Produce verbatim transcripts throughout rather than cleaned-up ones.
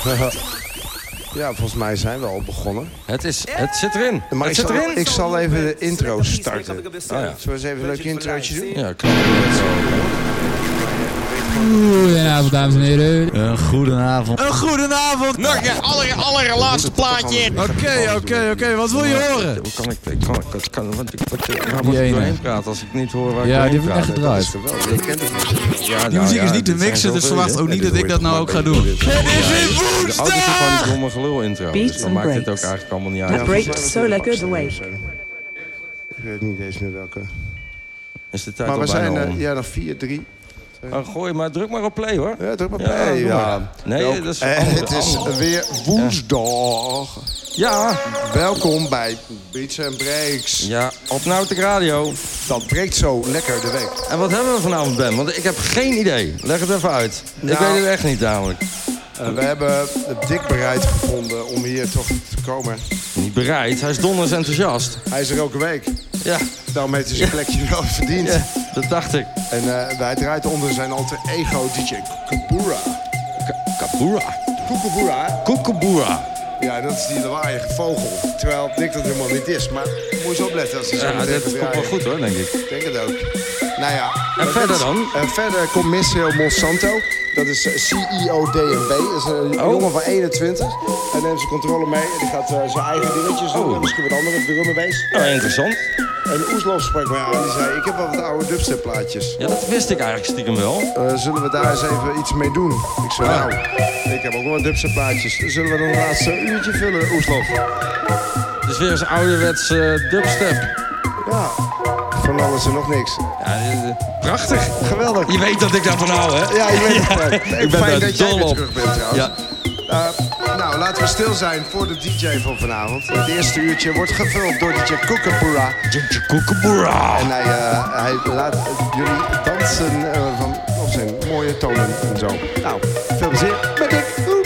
Ja, volgens mij zijn we al begonnen. Het, is, het zit erin. Maar het ik, zit zal, erin. ik zal even de intro starten. Oh, ja. Zullen we eens even een leuk introotje doen? Ja, klopt. Goedenavond, dames en heren. Een goedenavond. Een goedenavond. Nog je aller, allerlaatste plaatje. Oké, oké, oké. Wat wil je horen? Hoe kan ik... ik kan, ik kan, want ik, wat, waar moet Die ik ene. doorheen praten als ik niet hoor waar ik Ja, die doorheen heb ik praat? echt gedraaid. Geweldig, je kent het niet. Ja, Die nou, muziek ja, is niet te dit zijn mixen, dus zoveel, verwacht hè? ook niet dat ik dat nou ook ga doen. Het is woensdag! De auto zit van die domme gelul intro. Dus Beats dan and maakt het ook breaks. eigenlijk allemaal niet A uit. break solar good away. Ik weet niet eens meer welke. Is de tijd Maar al we bijna zijn om. uh, ja, nog vier, drie. Oh, gooi maar, druk maar op play hoor. Ja, druk maar Ja, play. doe Ja, maar. Nee, Welk- dat is En andere- het is andere. weer woensdag. Ja, Welkom bij Beats and Breaks. ja, op Nautic Radio. Dat breekt zo lekker de week. En wat hebben we vanavond, Ben? Want ik heb geen idee. Leg het even uit. ik Nou, weet het echt niet namelijk. Uh, we hebben het dik bereid gevonden om hier toch te komen. Niet bereid, hij is donders enthousiast. Hij is er elke week. Ja, Daarom heeft hij zijn plekje wel verdiend. ja, dat dacht ik. En uh, hij draait onder zijn alter ego D J Kukabura. Kabura. Kukabura? Koekeboera. Ja, dat is die lawaaiige vogel. Terwijl Dick dat helemaal niet is. Maar moet je eens opletten als hij zo Ja, meteen dit gaat komt wel draaien. goed hoor, denk ik. Ik denk het ook. Nou ja. En dat verder is- dan? En verder komt Michel Monsanto. Dat is C E O D N B. Dat is een Oh. jongen van eenentwintig. Hij neemt zijn controle mee. En die gaat uh, zijn eigen dingetjes doen. Oh. En misschien wat andere drummerbeest. Nou, interessant. En Oeslof sprak mij aan. Die zei, ik heb wel wat oude dubstep plaatjes. Ja, dat wist ik eigenlijk stiekem wel. Uh, zullen we daar eens even iets mee doen? Ik zei, Ah. nou, ik heb ook wel wat dubstep plaatjes. Zullen we dan het laatste uurtje vullen, Oeslof? Dus weer eens ouderwets uh, dubstep. Ja, van alles en nog niks. Ja, dit, uh, prachtig. Geweldig. Je weet dat ik daarvan hou, hè? Ja, je weet het. Ik ben Fijn daar dat jij dol weer op. terug bent trouwens. Ja. Uh, nou, laten we stil zijn voor de D J van vanavond. Het eerste uurtje wordt gevuld door D J Kukabura. Koekeboera. En hij, uh, hij laat jullie dansen uh, van, op zijn mooie tonen en zo. Nou, veel plezier met Dick. Oeh.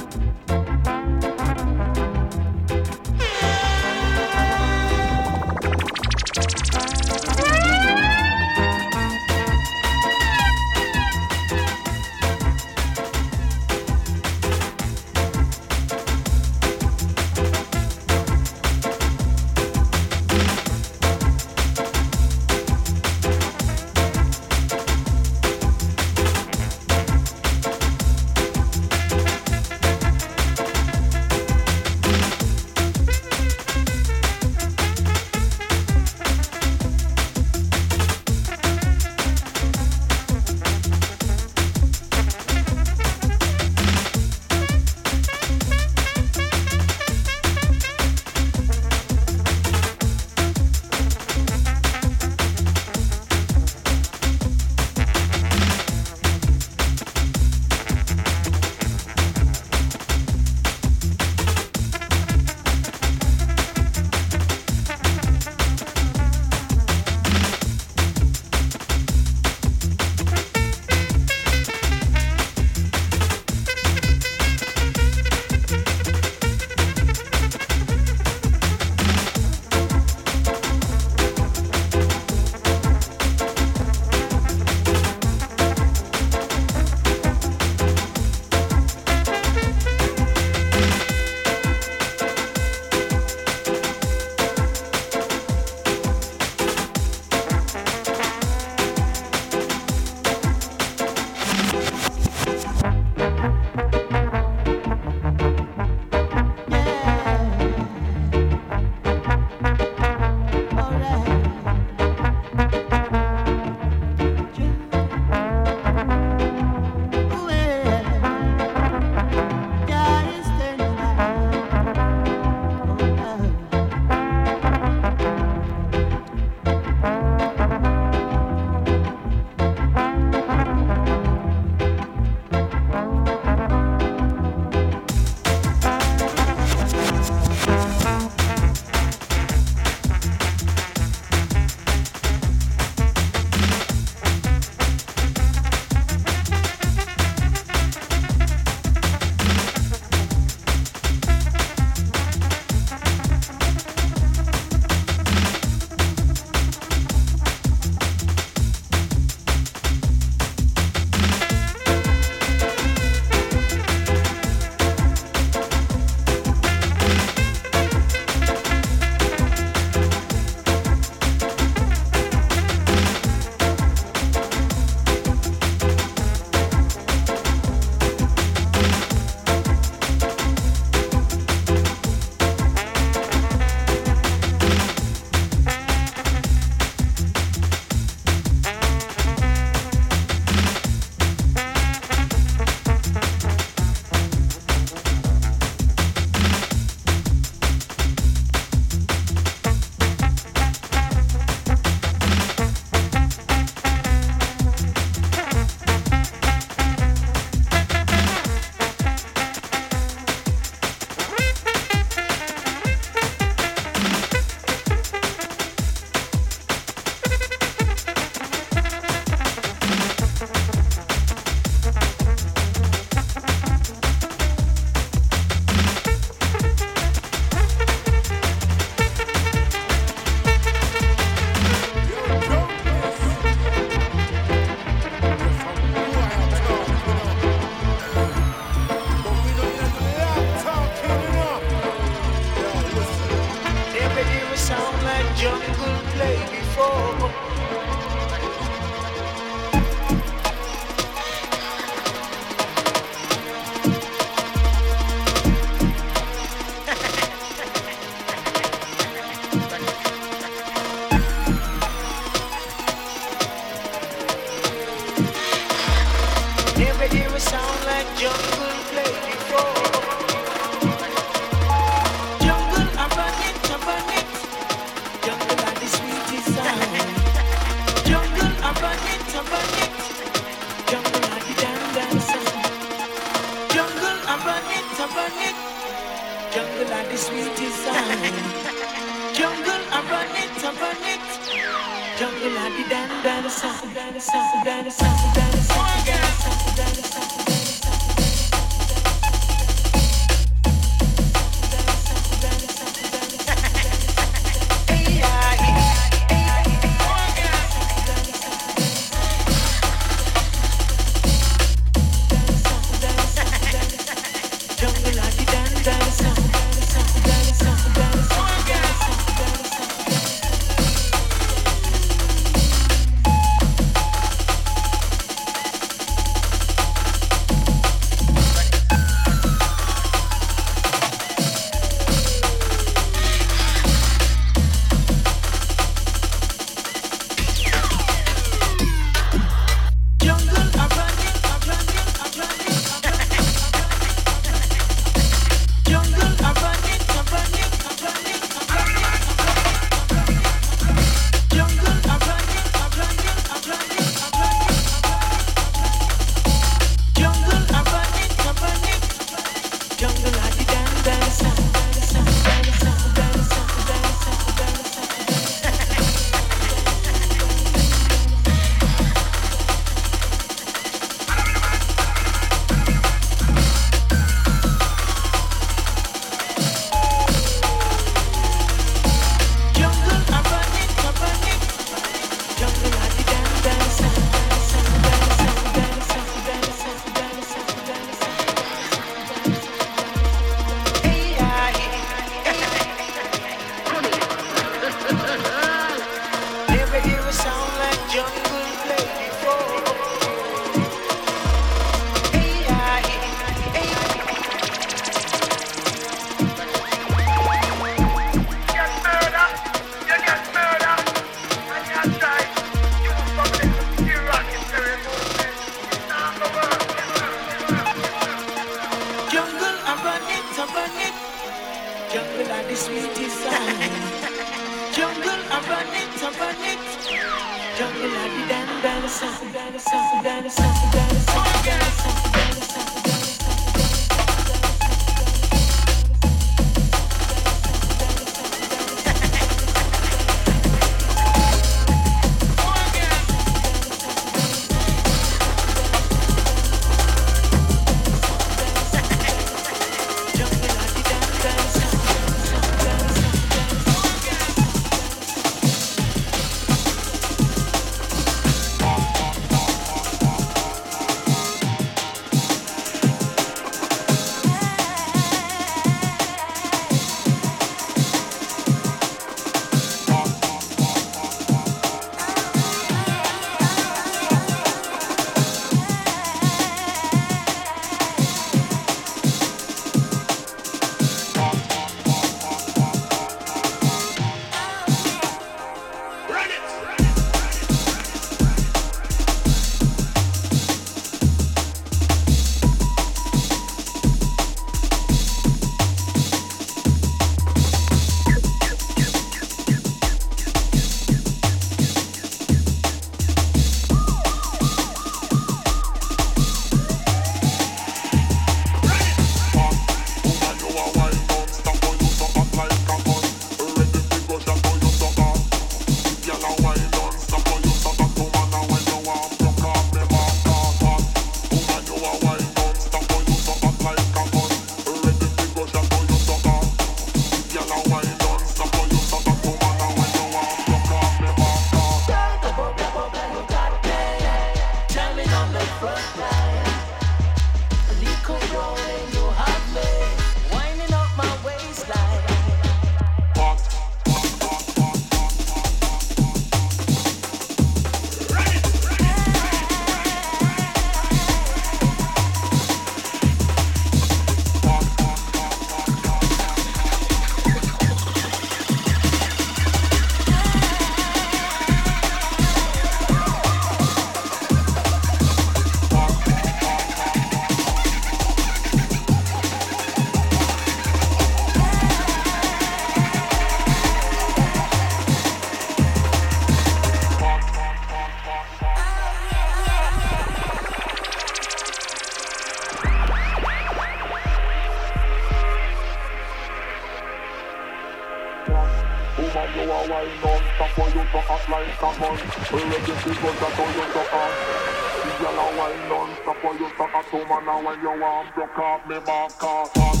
wine non-stop for you to act like a man. Ready to go to you to act. Girl a wine non-stop for you to act to man. And when you want broke off me back off.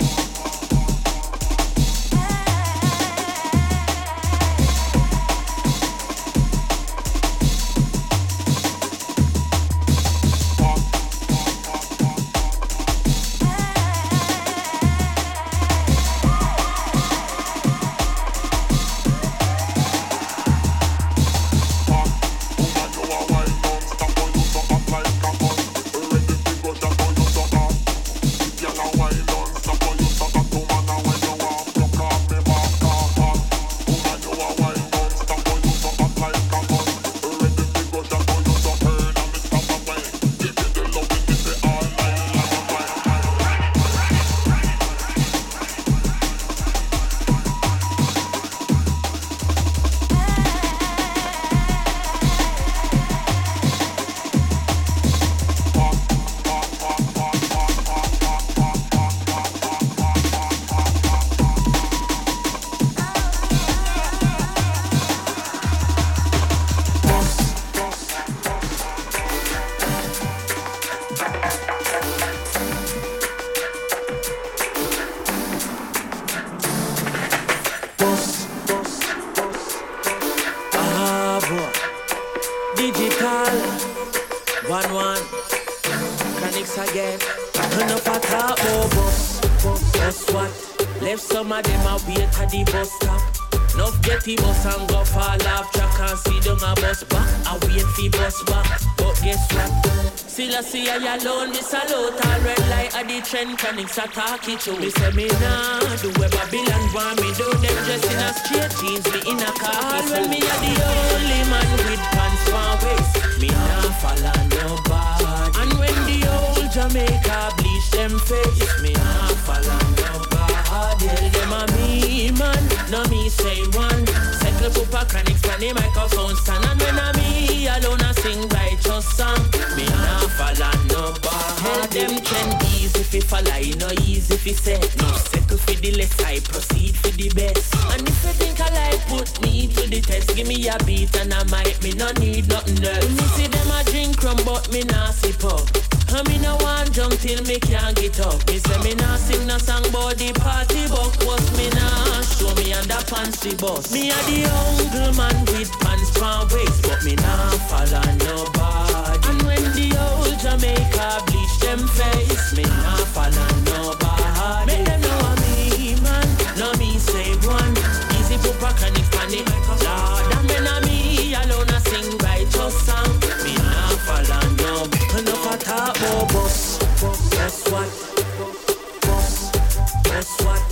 See I alone, me salute all red light at the trend chronics attack it to me. Say me nah do where Babylon want me do. Them dressed in a straight jeans, me in a car. When me a the only man with pants for waist, me nah follow nobody. And when the old Jamaica bleach them face, me nah follow nobody. Tell them a me man, no me say one. Settle pupa chronics on the microphone stand. And when a me alone a sing righteous song, me nah follow nobody. Tell them trend easy if you follow, you know easy if you say. No settle for the less, I proceed for the best. And if you think I like put me to the test, give me a beat and I might, me no need nothing else. Me see them a drink rum but me nah sip up. And me no want jump till me can't get up. Me say me nah sing no song about the party buck. Was me nah show me under pants the bus. Me a the uncle man with pants from waist, but me nah follow nobody. And when the old Jamaica bleach them face, me nah follow nobody. Make them know I'm me man, no me say one. Easy pupa chronics panic, Lord. And when I'm me alone I sing righteous song, me nah follow nobody. Enough a talk about boss, boss what, boss, boss what,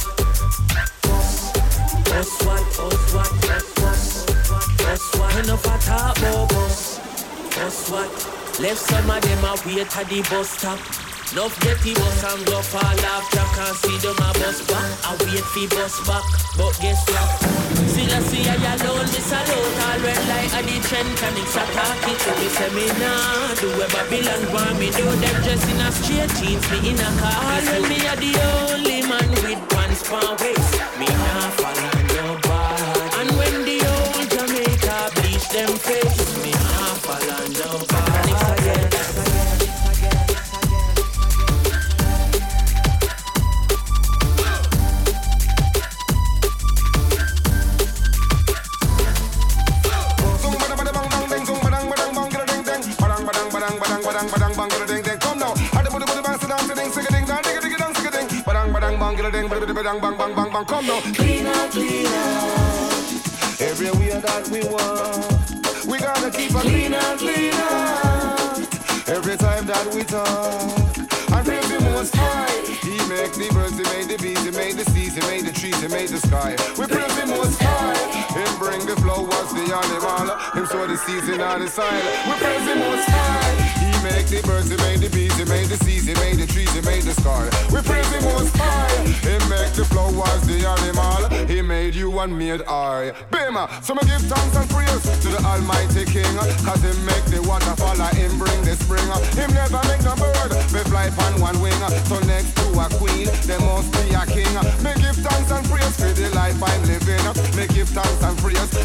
boss, boss what, boss what, boss, boss what. Enough a talk about boss, boss what. Left some of them a wait at the bus stop. Enough get the bus and go fall off track and see them a bus back. I wait for bus back, but guess what? Still I see I alone, me salute all red light at the trend chronics attack it to me. Say me nah do where Babylon want me do. Them dressed in a straight jeans, me in a car. When me a the only man with pants for waist, me nah follow nobody. And when the old Jamaica bleach them face, me nah follow nobody. Chronics again. Bang, bang, bang, bang, bang, come now. Clean out, clean out. Everywhere that we want, we gotta keep a clean out, clean out. Every time that we talk, and praise the Most High. He make the birds, he made the bees, he made the seas, he made the trees, he made the sky. We praise the Most High. Him bring the flowers, the animal, him sow the seeds in all the soil. We praise the Most High. He make the birds, he made the bees, he made the seas, he made the trees, he made the sky. We praise the Most High. He make the flowers, the animal, he made you and made I. Bima, so me give thanks and praise to the Almighty King, cause him make the water fall, him bring the spring. Him never make no bird, me fly on one wing. So next to a queen, there must be a king. Me give thanks and praise for the life I'm living. Me give thanks and praise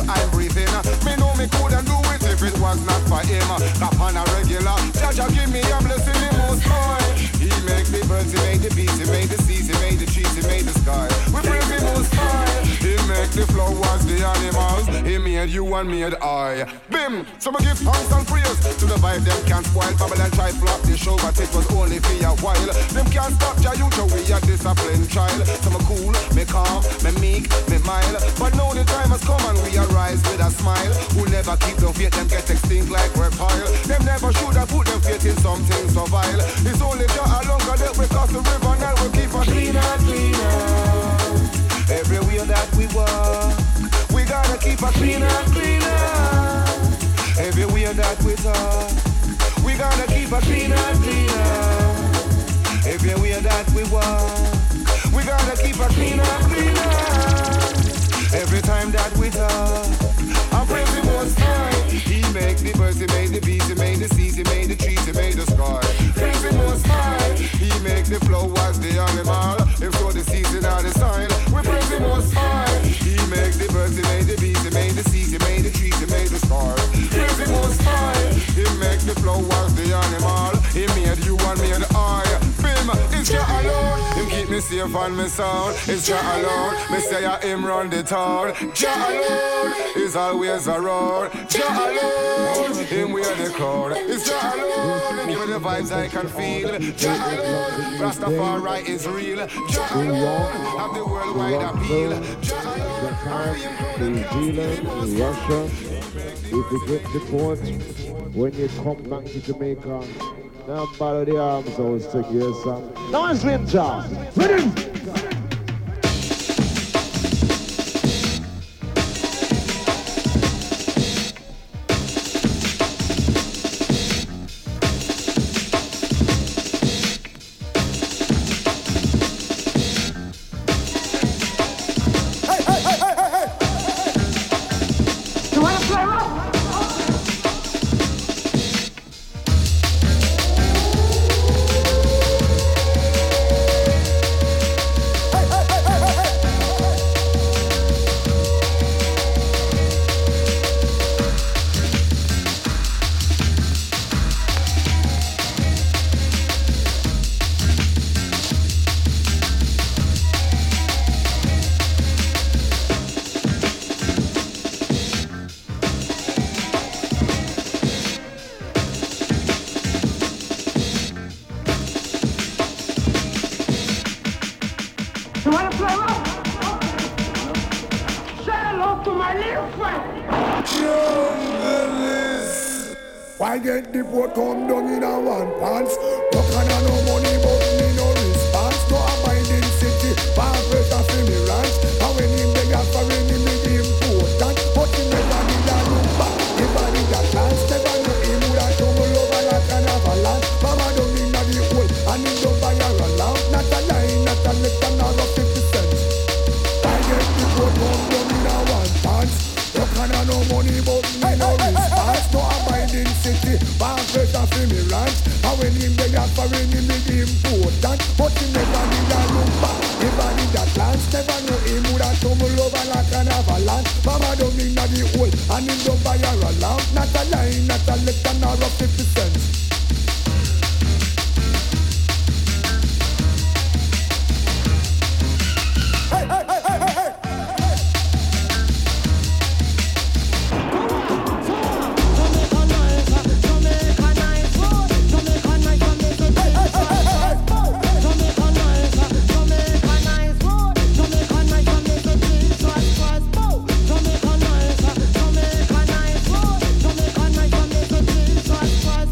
I'm breathing. Me know me couldn't do it if it was not for him. Up on a regular, Jaja give me a blessing the most high. He make the birds, he made the beasts, he made the seas, he made the trees, he made the sky. We praise the most high. He make the flowers, the animals. He made you and made I. Bim! So I give thanks and praise to the vibe them can't spoil. Babylon try flop the show, but it was only for a while. Them can't stop Jayuta, we a disciplined child. So me cool, me calm, me meek, me mild. But now the time has come and we arise with a smile. Who never keep them faith, them get extinct like reptile. Them never should have put them faith in something so vile. It's only Jah alone can help we cross the river, now we keep a cleaner, cleaner. Everywhere that we walk, we gotta keep a cleaner, cleaner. Everywhere that we talk, we gotta keep a cleaner, cleaner. Everywhere that we walk, we gotta keep a cleaner, cleaner. Every time that we talk, I praise the Most High. He make the birds, he made the bees, he made the seas, he made the trees, he made the sky. Praise the Most High. He make the flowers, the animal. If so the season or the sign, we praise the Most High. He make the birds, he made the bees, he made the seas, he made the trees, he made the sky. Praise the Most High. He make the flowers, the animal. He made you and me and I. Bim, it's Jah alone. Him keep me safe and me sound. It's Jah alone. Me say I him run the town. Jah alone is always around. Jah alone, him wear the crown. It's Jah alone. Give me the vibes I can feel. Jah alone, Rastafari is real. Jah alone, have the worldwide appeal. Jah alone, New Zealand, Russia. If you get the port, when you come back to Jamaica, now bother the arms out, stick your song. Now it's Slim Jah. Ready? I get the boat come down in a one pants. Rock and a no money but me no response. No abiding city, far pressure for me ranch. And when him beg up for any me the important. But he never did a look back. Never did a glance. Never know him would have tumble over like an avalanche. Mama down in the hole and him don't buy a lamp. Not a line, not a left and not a fifty cents. I get the boat come down in a one pants. Rock and a no money but me no response. No abiding city, far pressure for me ranch. And when him beg up for any me the important. But he never did a look back. Never did a glance. Never know him would have tumble over like an avalanche. Mama down in the hole and him don't buy a lamp. Not a line, not a left and not a fifty cents. Jamaica nice road, Jamaica nice from the to Jesus Christ.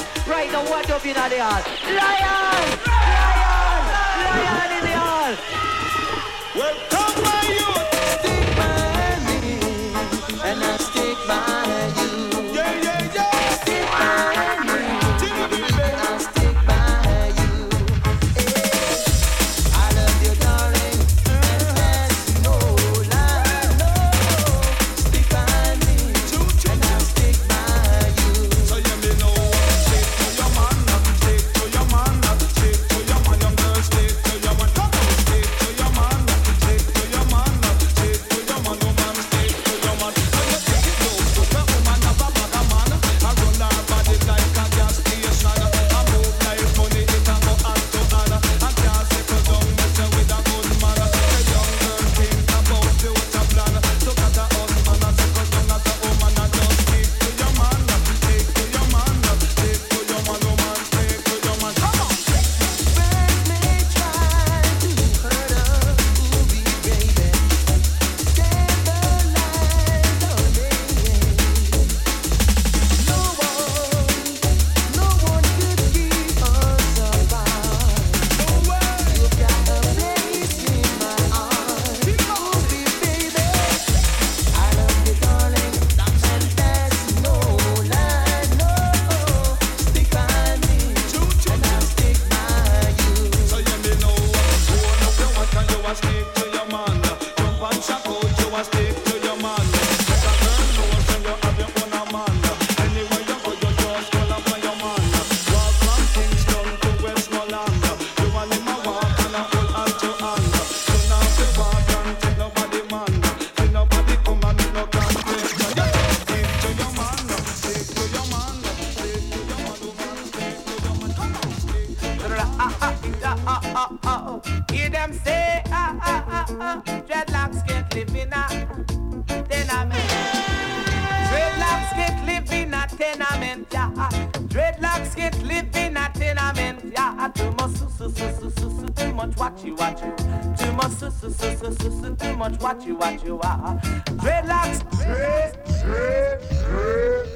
Right now, what up in the hall? Lion! Lion! Lion in the hall! Welcome, my youth! Stick by me, and I stick by you. Yeah, yeah, yeah! Stick by me, and I stick by you. Hey, I love you, darling, and there's no lie, no. Stick by me, and I stick by you. So you me know, stick to your man, stick to your man, stick to your man, young girl, stick to your man. Come on, stick to your man, stick to your man, stick to your man, woman, stick to your man. So you take it low, put a woman up a bag of man. I run her body like a gas station. I move like money, it a go hand to hand. I can't settle down, mess with a good man. The young girl think about future plan. Look at her husband, I settle down as a woman. I just stick to your man, stick to your man, stick to your man, woman, stick to your man. Come on. Friends may try to hurt us, ooh, baby. Stand the line, darling. No one, no one could keep us apart. You've got a place in my heart, ooh, baby. I love you, darling, and there's no lie, no. Stick by me, and I'll stick by you. So you me know, hold up your watch and you a stick to your man. Jump and shock out, you a stick to your man. Let a girl know say you have your own a man. Anywhere you go, you just call up on your man. Walk from Kingston to Westmoreland. You and him a walk and a hold hand to hand. You not fi walk and take nobody man. Till nobody come and me no can't take you. You just stick to your man, stick to your man, stick to your man, woman, stick to your man. Come on, stick to your man. Ah, ah, ah, ah, ah, ah. Hear them say, ah, ah, ah, ah. Dreadlocks can't live in a tenement. Dreadlocks can't live in a tenement, yeah. Dreadlocks can't live in a tenement, yeah. Too much, su, su, su, su, su, su, too much watchy, watchy. Too much, su, su, su, su, su, su, too much watchy, watchy, ah. Dreadlocks, dread, dread, dread.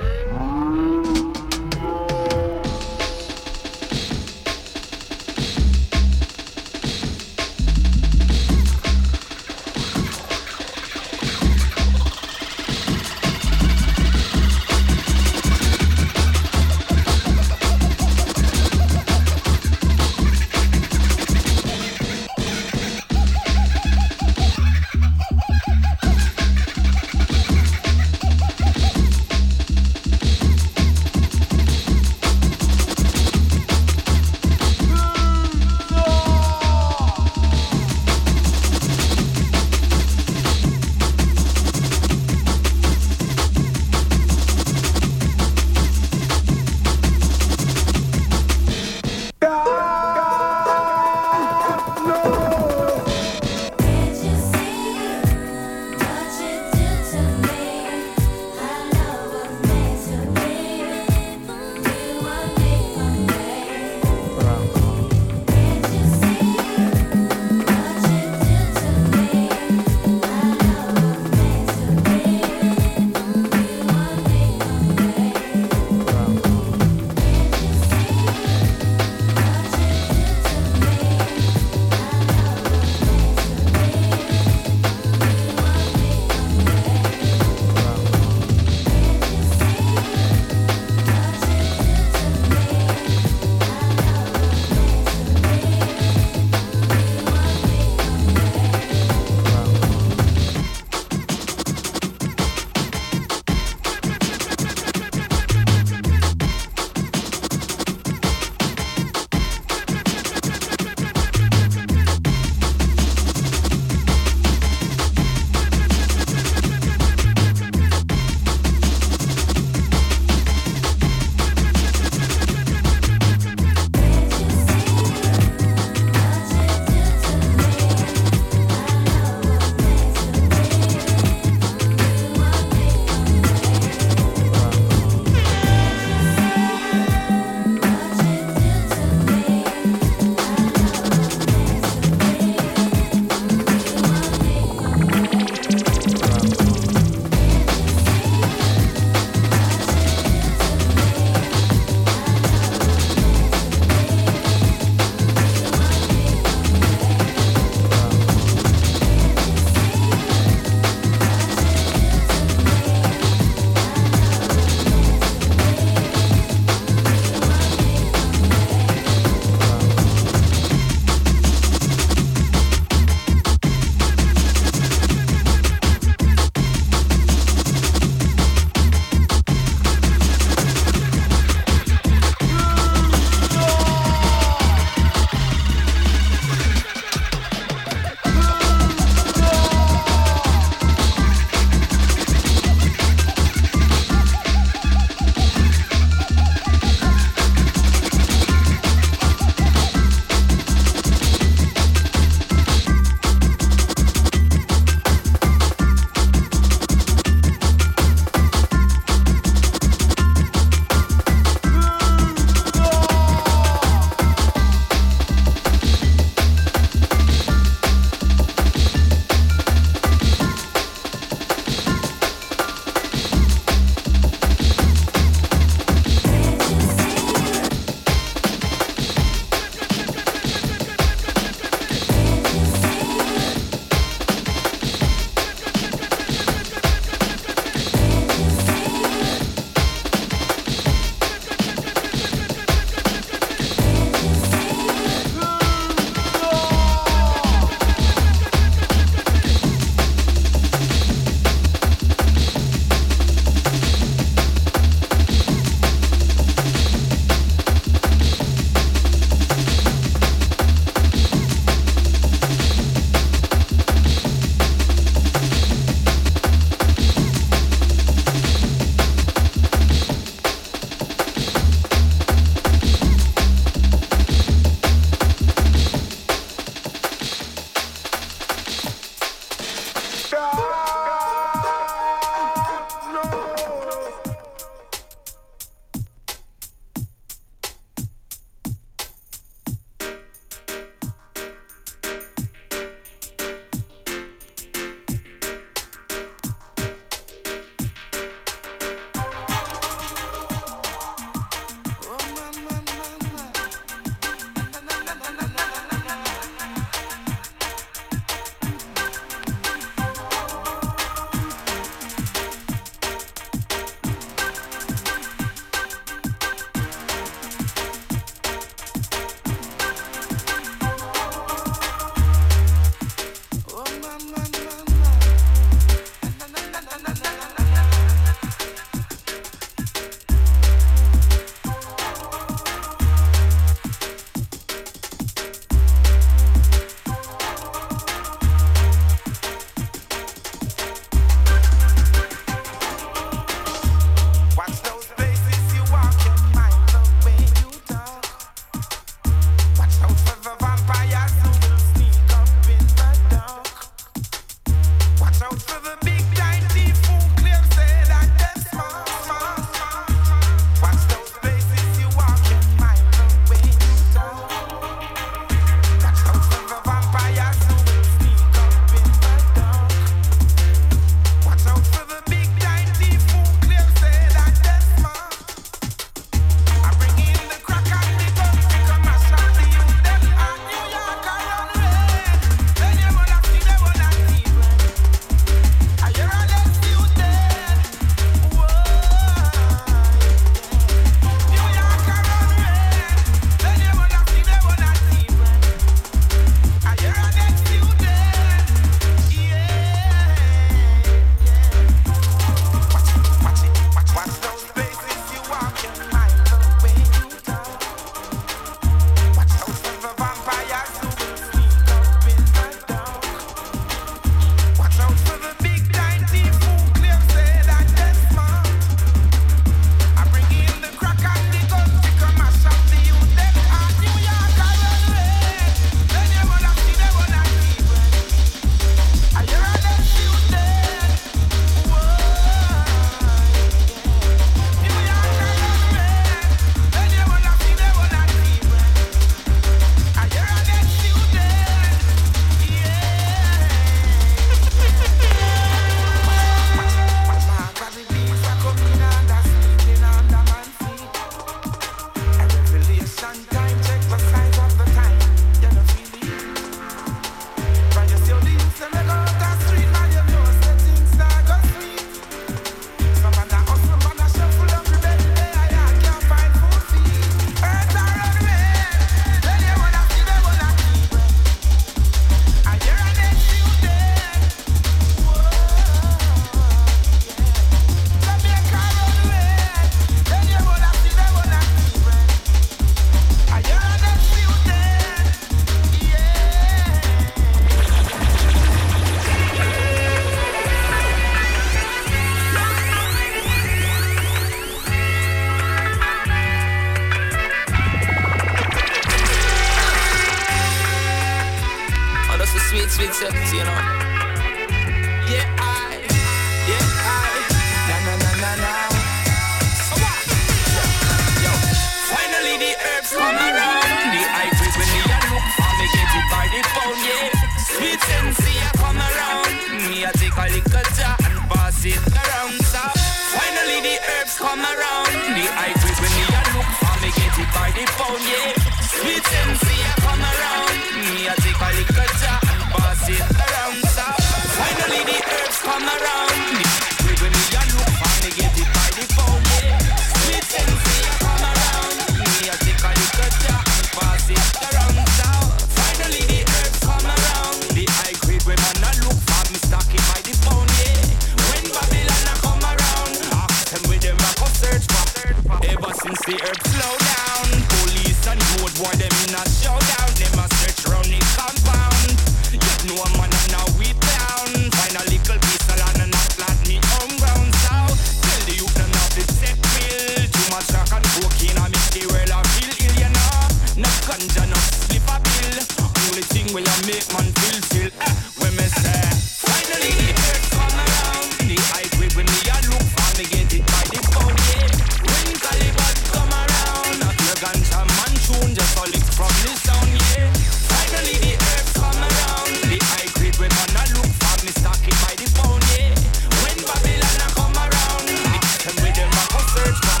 sweet, sweet sense, you know. Yeah, I, yeah, I, na na na na na. Come on. Yo, finally the herbs come around. The high grade when me a look for me get it by the phone, yeah. Sweet sense, I come around. Me a take a little jar and pass it around, so finally the herbs come around. The high grade when me a look for me get it by the phone, yeah. Sweet sense, I come around. Me a take a little jar and pass it around, so finally the herbs come around. The high grade when me a look for me get it by the phone, yeah. Sweet sense, I come around. Me a take a little jar and pass it around, so finally the herbs come around. The high grade when man a look for me stock it by the phone, yeah. When Babylon a come around, ask them with them a go search for. Ever since the herbs slow down, police and road boy them in a showdown. Them a search round the compound. Yet no man a now we down. Find a little piece of land and not flat me home ground. So tell the youth them not to take pill. Too much crack and cocaine a make the world a feel ill, you know. No ganja, no slip a pill. Only thing will a make man feel feel. Eh, when me say finally the herbs come around. The high grade when me a look for me get it by the phone, yeah. When Caliban come around, not your ganja man tune just a lick from the sound, yeah. Finally the herbs come around. The high grade when man a look for me stock it by the phone, yeah. When Babylon a come around, ask them with them a go search for.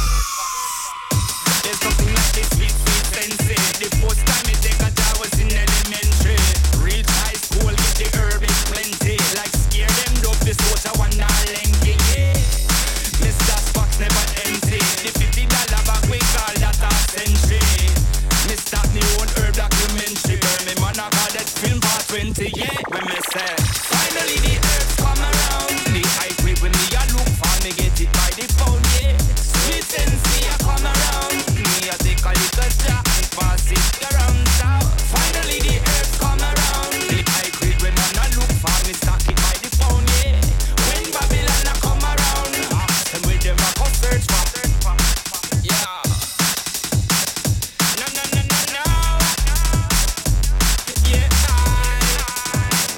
There's nothing like this sweet, sweet fancy. The first time me take a job was in elementary. Reach high school, get the herb is plenty. Like scare them dope, this water one not lengthy, yeah. Mister Spock's never empty. The fifty dollar bag we call that a century. Me start me own herb documentary. Burn me man I call that film part twenty, yeah. When me say finally the herbs come around. The high grade when me a look for me get it by the phone, yeah. Sweet sense me a come around. Me a take a little jar and pass it around, so finally the herbs come around. The high grade when man a look for me stock it by the phone, yeah. When Babylon a come around, ask them with them a go search for. Yeah. No, no, no, no, no. Yeah, I.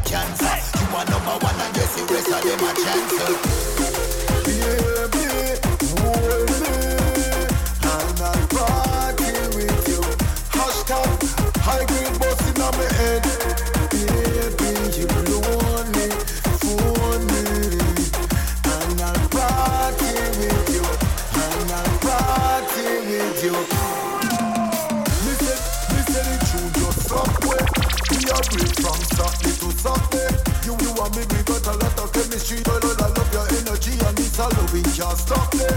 cancer. You are number one and just the rest of them a chancel. Baby, hold me, and I'll party with you. Hashtag high grade boss in my head. Baby, you lonely, phone me, and I'll party with you, and I'll party with you. Me say, me say the tune just stop way. We are great from Saturday to Sunday. You, you and me, we got a lot of chemistry. Girl, I love your energy and it's all we can't stop it.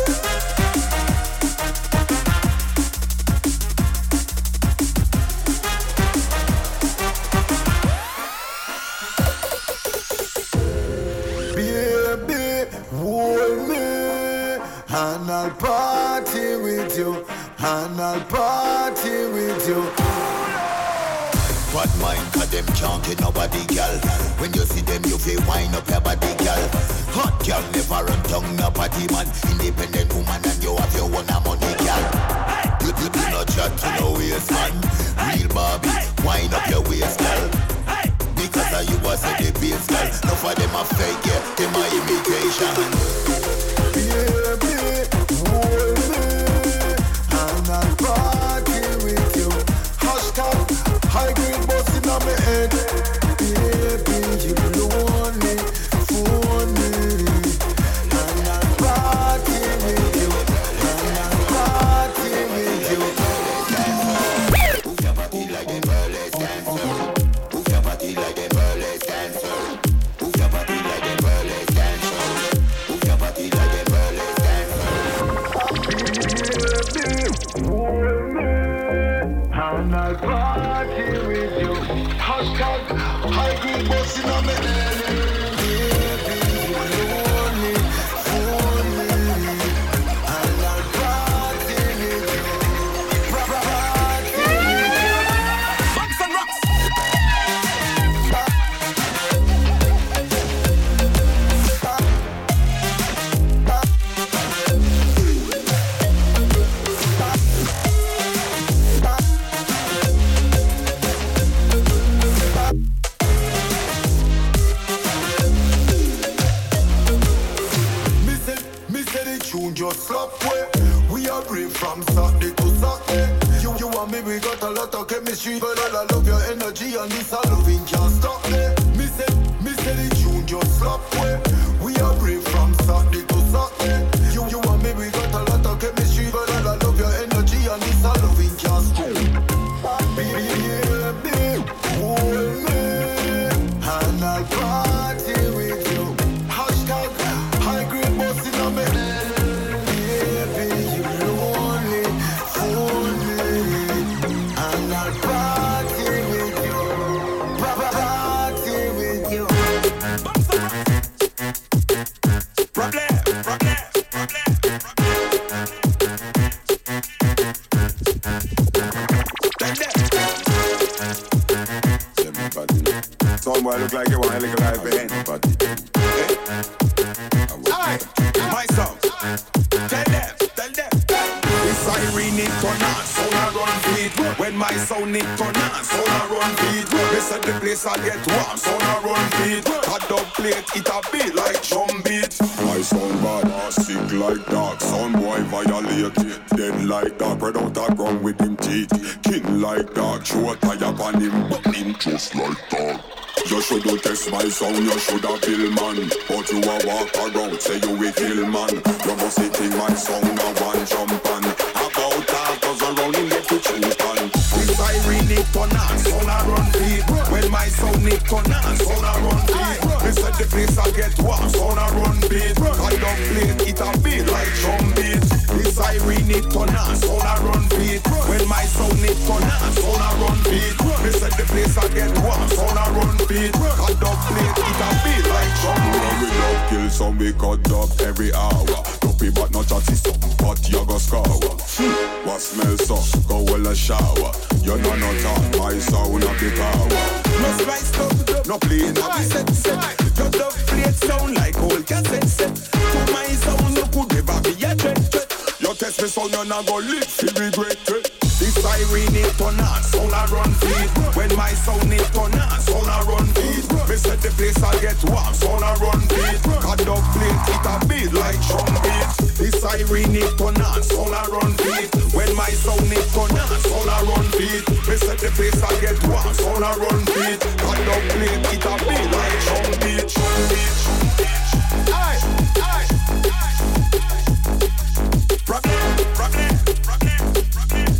Baby, hold me, and I'll party with you, and I'll party with you. Bad mind, cause them can't get nobody, girl. When you see them, you feel wind up your body, girl. Hot girl never run down no party man. Independent woman and you have your own money, girl. You, you do not chat to no waist, man. Real Barbie, wind up your waist, girl. Because of you was a the base, girl. No for them a fake, yeah, them a imitation. Baby, hold me, and I'll party with you. Hashtag high grade boss in my head. Baby, you lonely, phone me, and I'll party with you, and I'll party with you. Move your body like a burlesque dancer. Move your body like a burlesque dancer. Move your body like a burlesque dancer. Move your body like a burlesque dancer. And I'll party with you. Hashtag high grade boss in my head. Baby, you lonely, phone me, and I'll party with you. Party with you. Bucks and rocks. Me say, me say the tune just slap way. We are brave from Saturday to Saturday. You, you and me, we got a lot of chemistry. Girl, I love your energy and this all loving can't stop me. Me say, me say the tune just slap way. We are brave from Saturday to Saturday. You, you and me, we got a lot of chemistry. Girl, I love your energy and this all loving can't stop me. Baby, hold me, and I'll party with you. Hashtag high grade boss in my head. Baby, you lonely, phone me, and I'll party with you. Party with you. Problem, problem, Some boy look like you want a little life behind. Alright, my song. Tell them, tell them. This siren it turn on, sound a run feed. When my sound it turn on, sound a run feed. They said the place I get warm, sound a run feed. A dub plate, it a beat like drum beat. My sound bad, sick like dog. Sound boy violate, dead like dog. Spread out a ground with him teeth. King like dog, show a tire upon him, but him just like dog. You shoulda test my sound, you shoulda kill man. But you a walk around, say you a kill man. You must think my sound a one jump on. About half dozen round him get to choose on. This siren it turn on, sound a run feed. When my sound it turn on, sound a run feed. They said the place I get warm, sound a run beat. I don't play it, it a beat like drum beat. This siren it turn on, sound a run feed. When my sound it turn on, sound a run beat. They said the place I get warm, sound a run beat. I don't play it, it a beat like drum beat. We love kill some, we cut up every hour. Dopey but not chatty some, but you go scour. What smell so, go well a shower. You know no talk, my sound of the power. No slice up, no play, no be set set. Your dub plate sound like old cassette set. To my sound, you could never be a threat threat. You test me sound, you not go live, feel regret it. This siren it turn on, sound a run feed. When my sound it turn on, sound a run feed. Me like trumpet. The siren it turn on, sound a run beat. When my sound it turn on, sound a run beat. Me set the place I get warm, sound a run beat. God don't play it a be like trumpet, trumpet, trumpet. Aye, aye, aye. Rock it, rock it, rock it, rock it.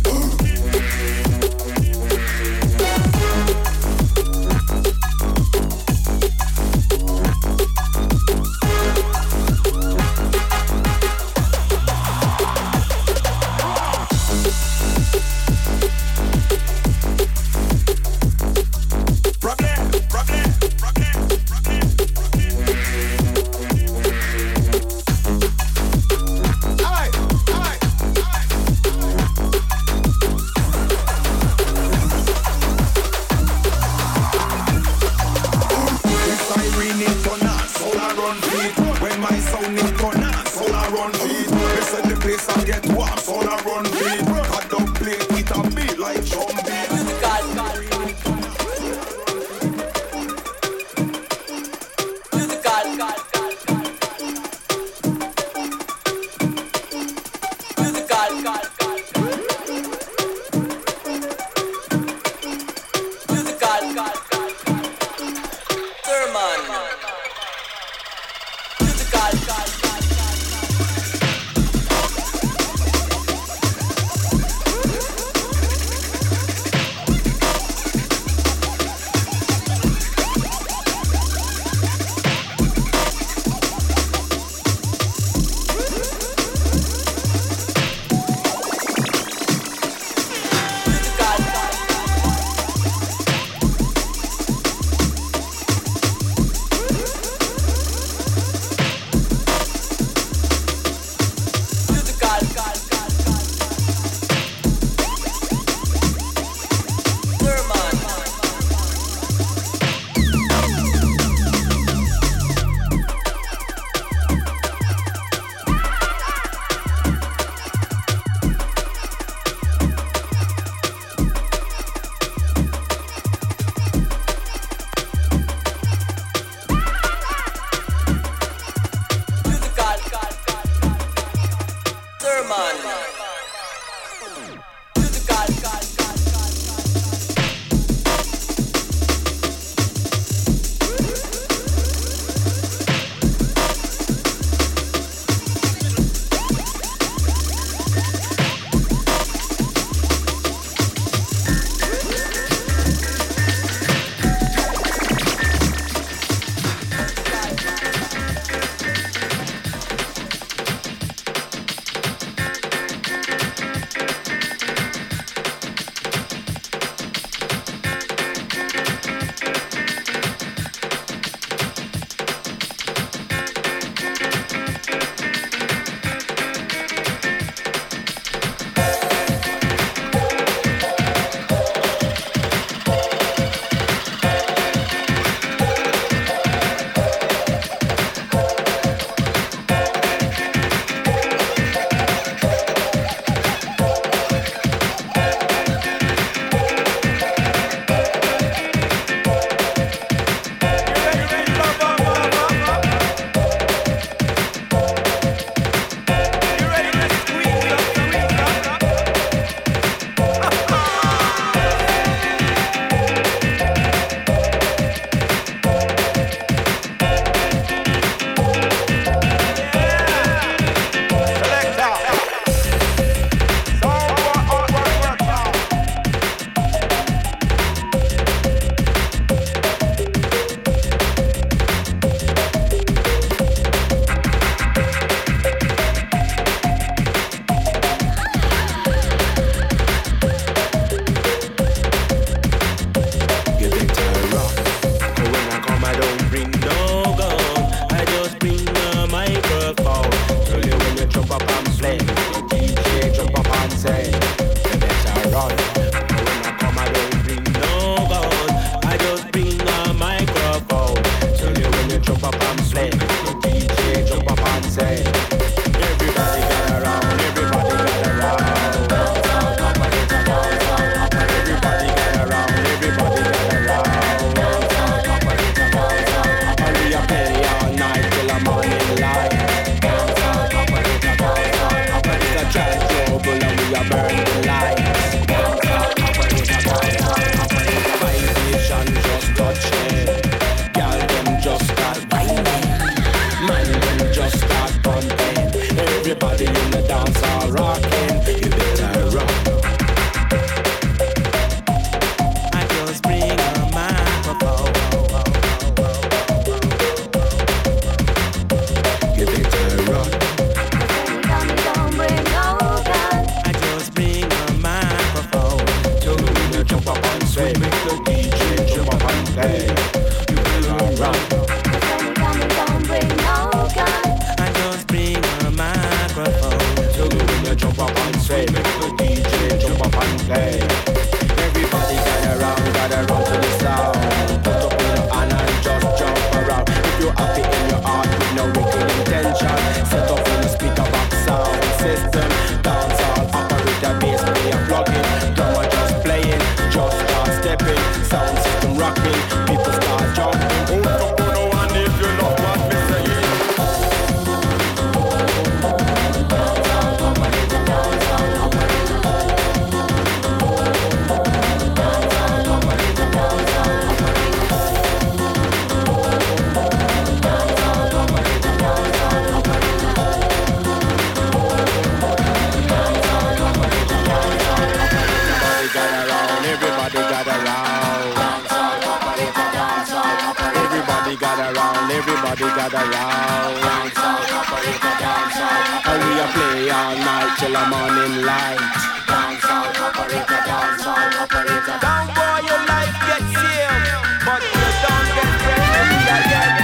everybody gather round, everybody gather round. Dance out, operator, dance out. And we a play all night till the morning light. Dance out, operator, dance out, operator. Down boy, your life gets sealed, but you don't get ready again.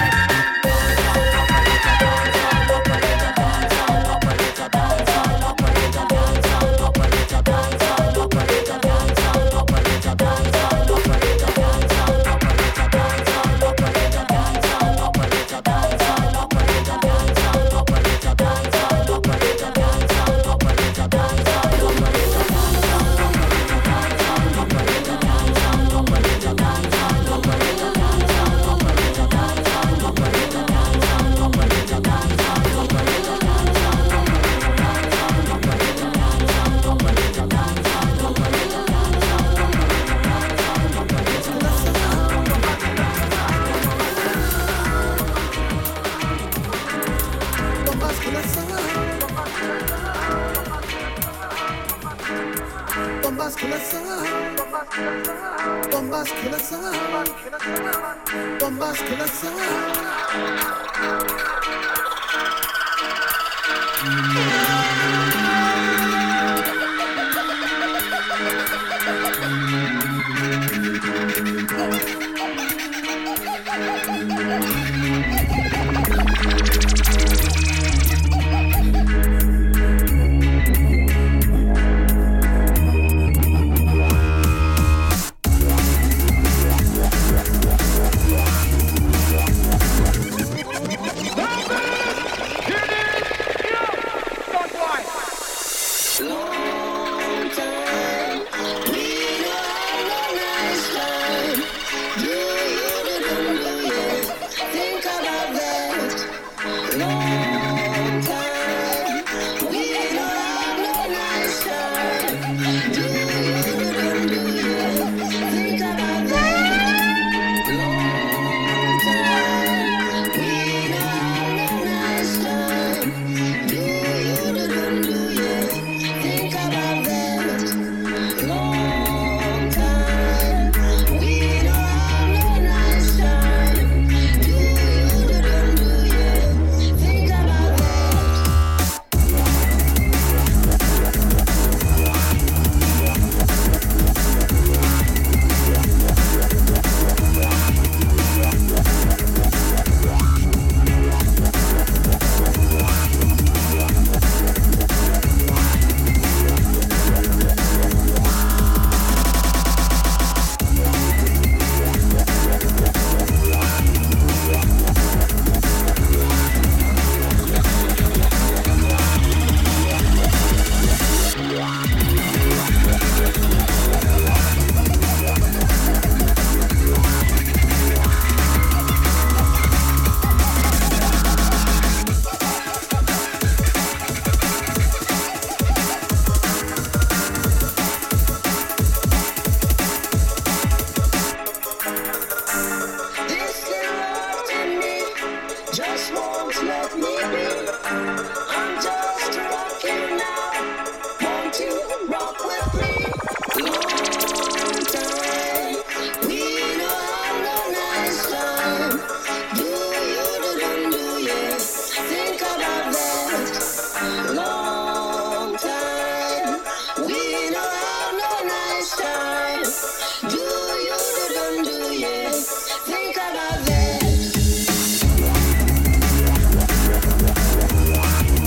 Think about that.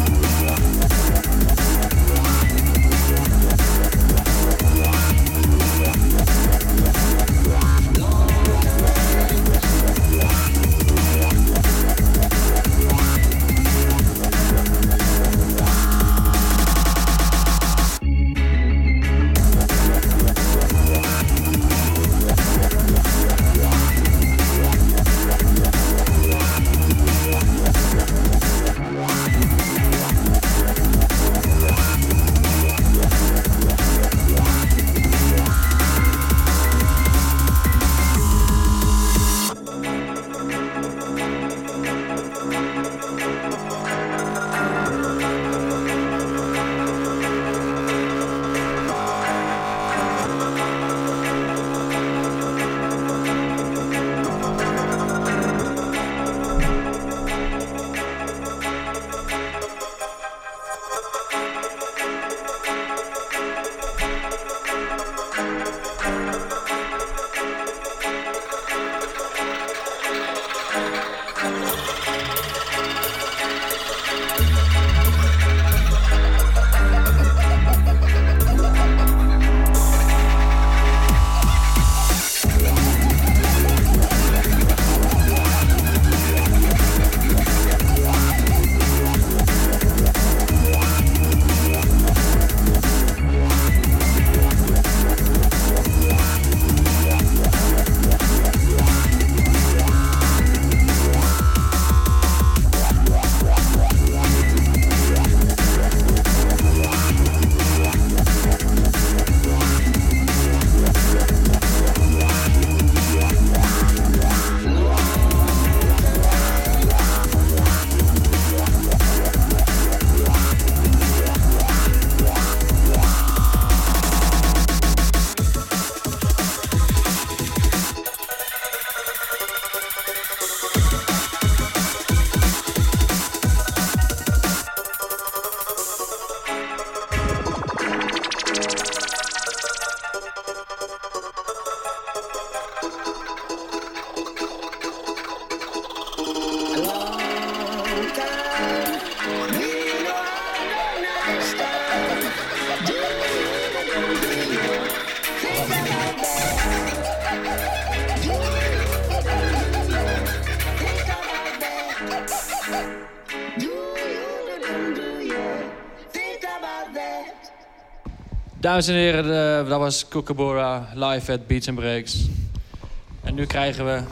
Dames en heren, de, dat was Kookaburra live at Beats and Breaks. En nu krijgen we...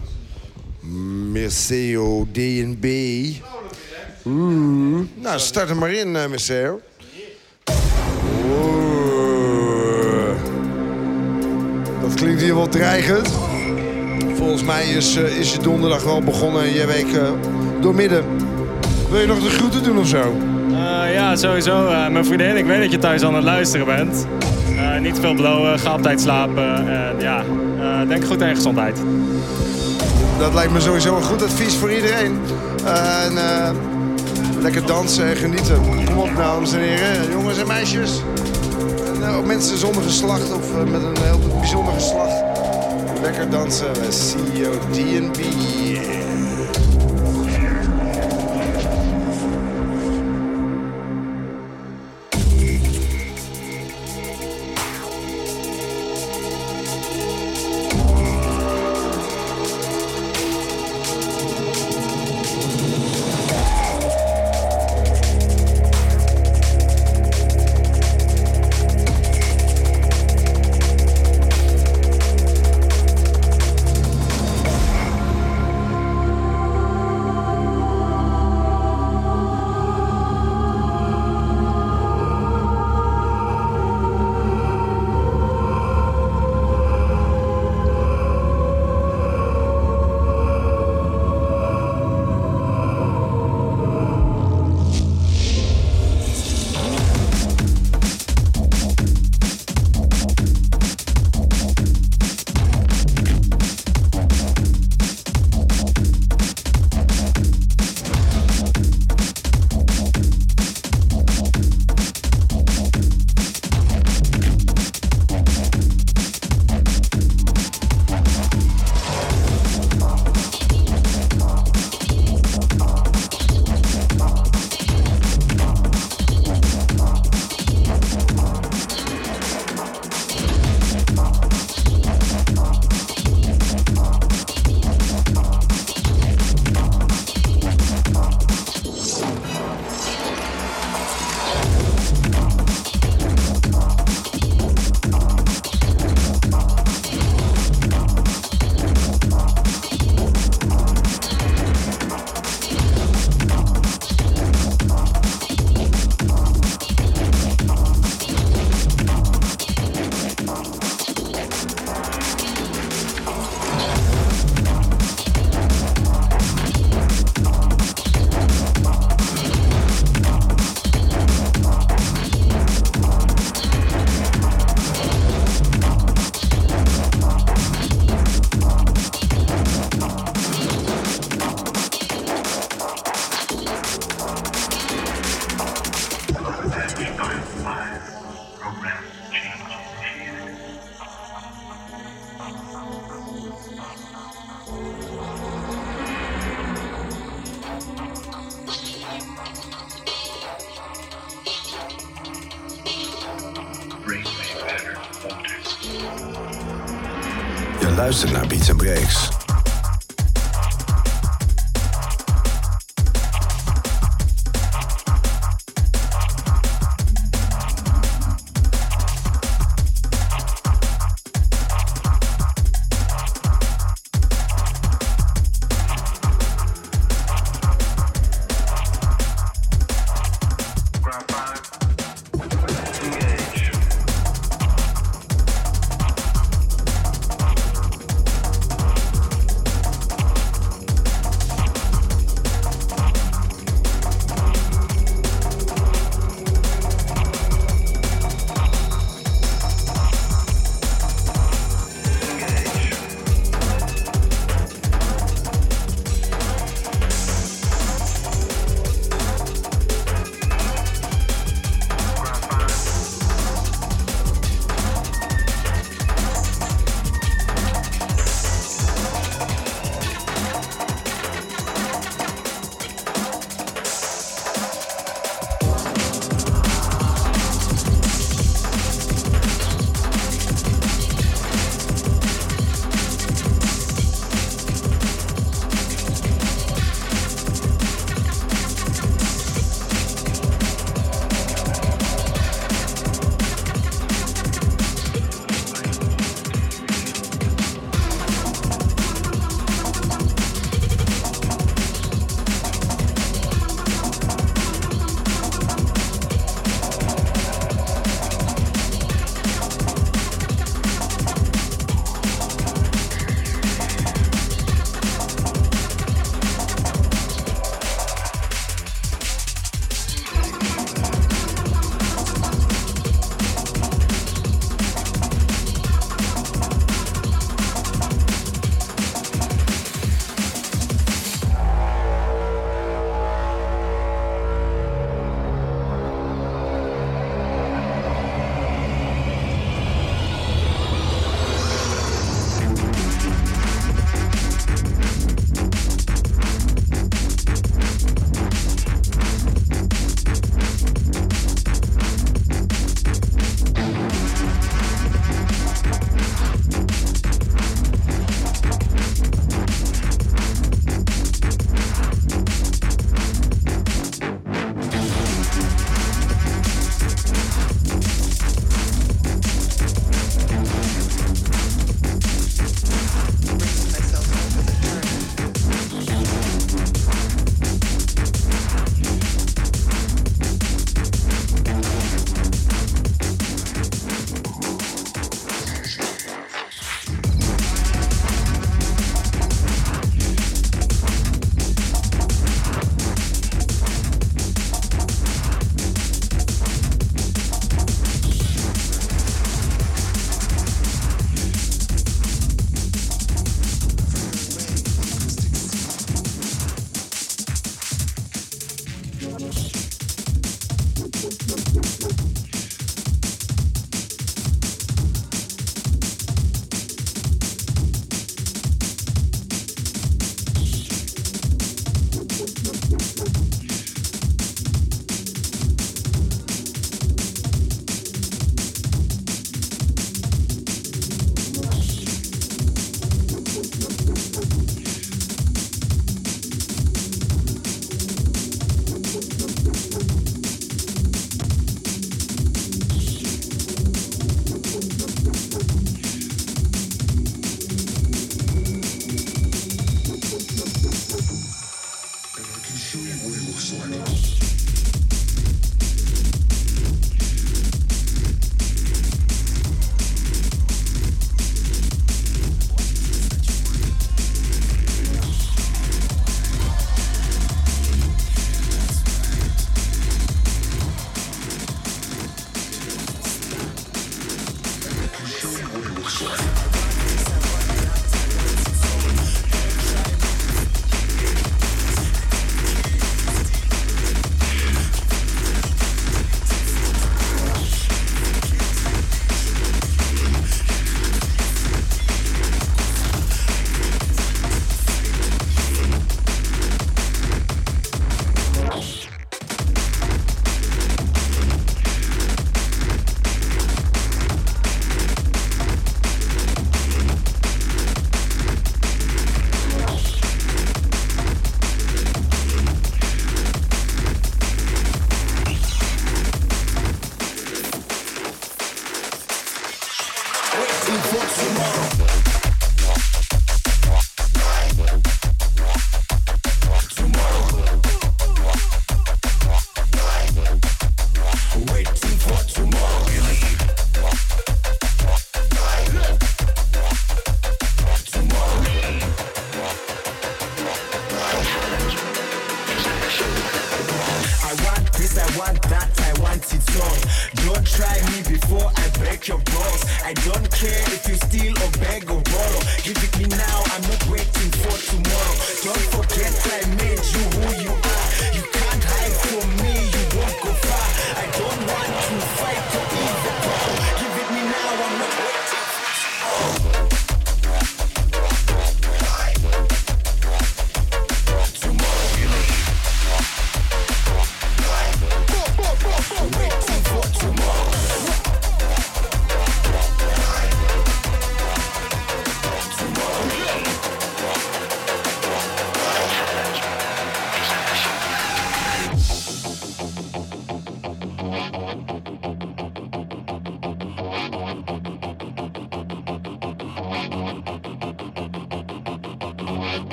Merceo D en B. Oeh. Nou, start er maar in, uh, Merceo. Oeh. Dat klinkt hier wel dreigend. Volgens mij is, uh, is je donderdag wel begonnen en je week uh, doormidden. Wil je nog de groeten doen of zo? Uh, ja, sowieso. Uh, mijn vriendin, ik weet dat je thuis aan het luisteren bent. Uh, niet veel blowen, ga op tijd slapen. En ja, uh, denk goed aan je gezondheid. Dat lijkt me sowieso een goed advies voor iedereen. Uh, en uh, lekker dansen en genieten. Kom op, dames en heren, jongens en meisjes. En uh, ook mensen zonder geslacht of uh, met een heel bijzonder geslacht. Lekker dansen bij C O D en B. Je luistert naar Beats and Breaks.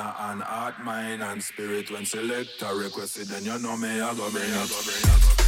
a hand, heart, mind and spirit. When select a request it, then you know me, I go bring it, I go bring it, I go bring it.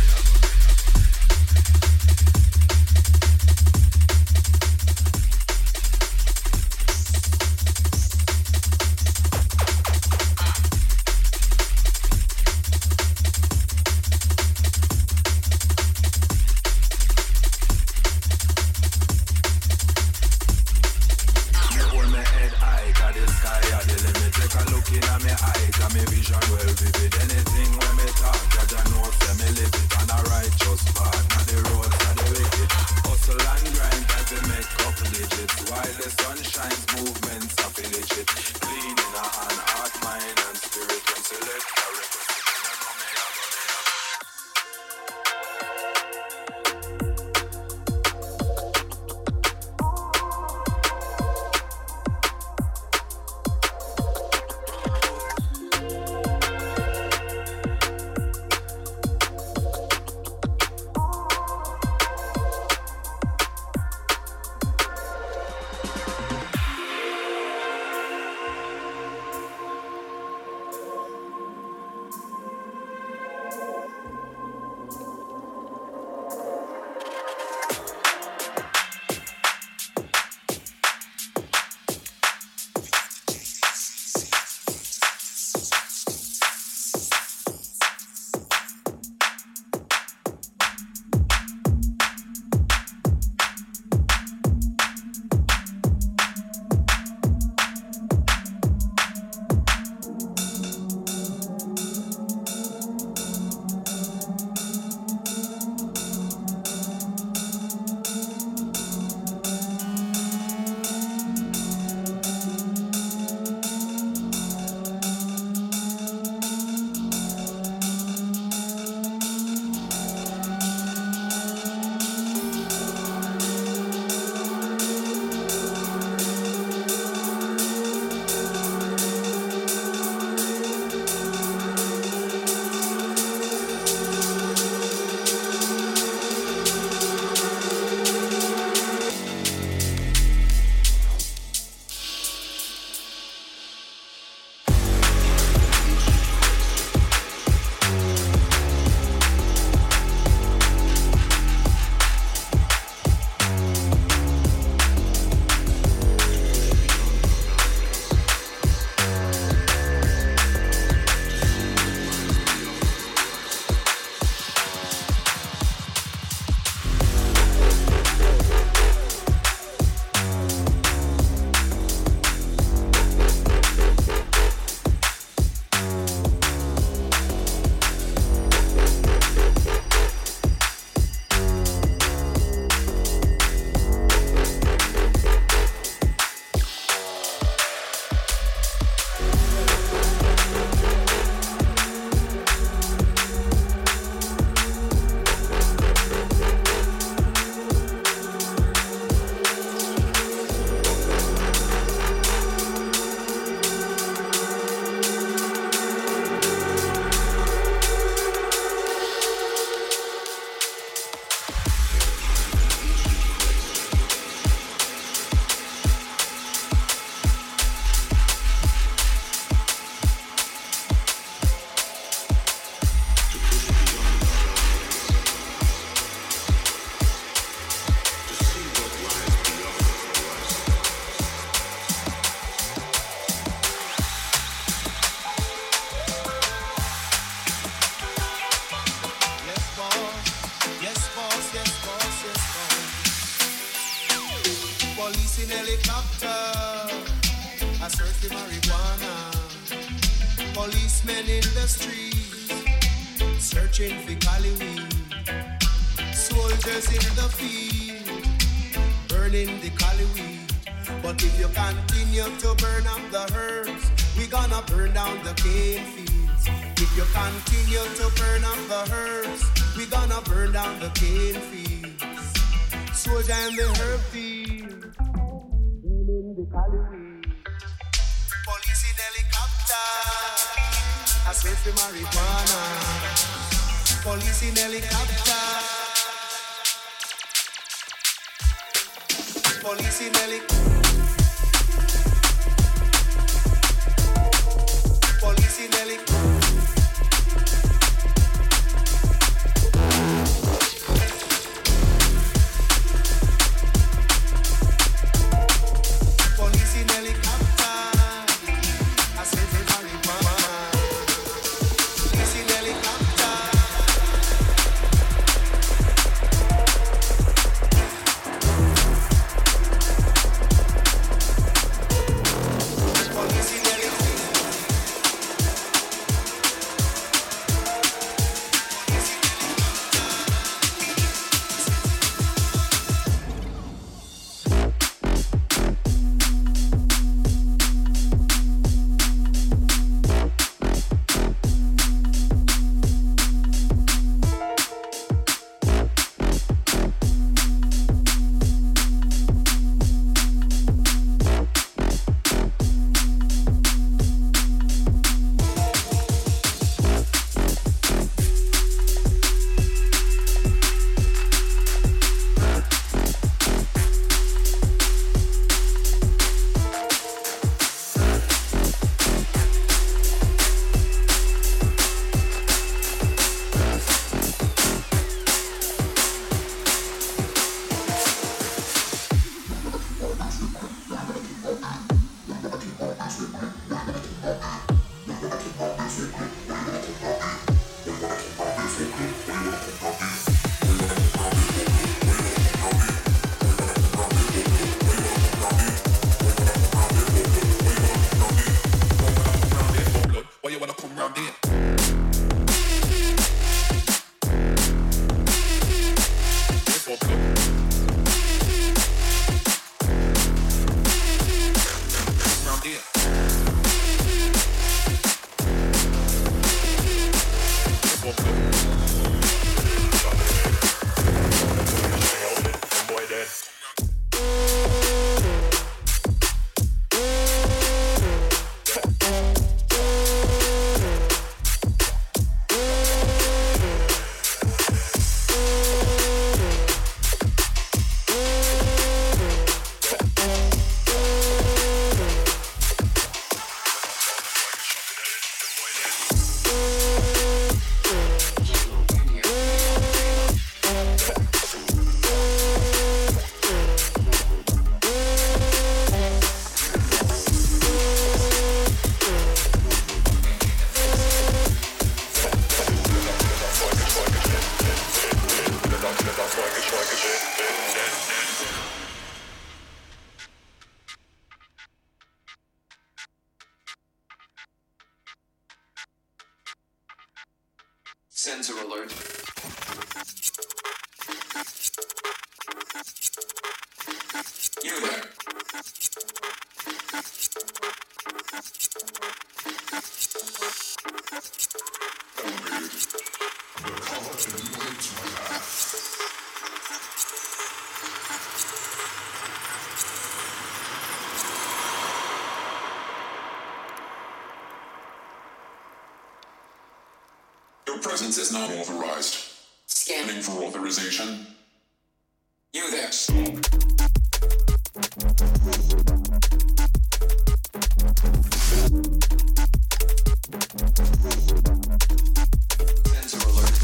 police in helicopter, I search for marijuana. Policemen in the streets, searching for cali weed. Soldiers in the field, burning the cali weed. But if you continue to burn up the herbs, we gonna burn down the cane fields. If you continue to burn up the herbs, we gonna burn down the cane fields. Soldier in the herb field, burning the cali weed. Police in helicopter, I search for marijuana. Police in helicopter, police in helicopter. round there. Sensor alert. You there. Your presence is not authorized. Scanning for authorization. You there. Sensor alert.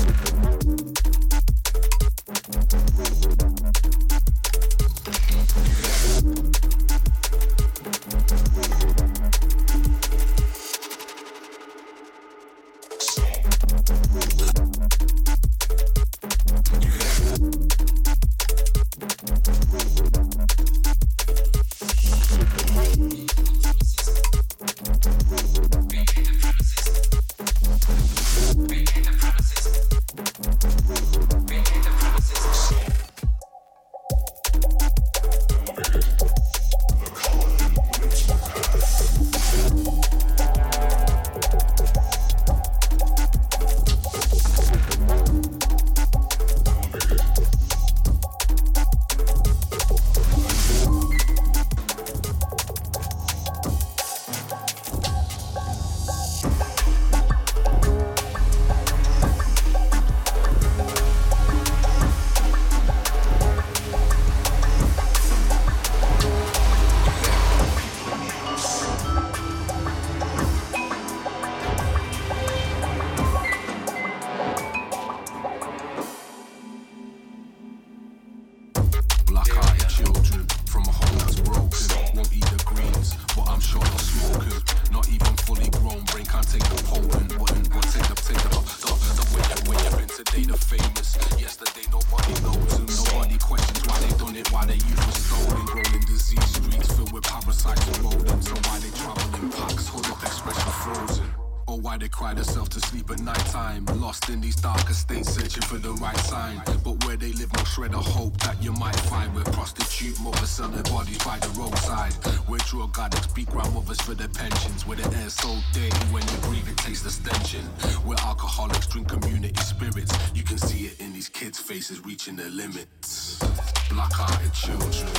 Reaching their limits. Black-hearted children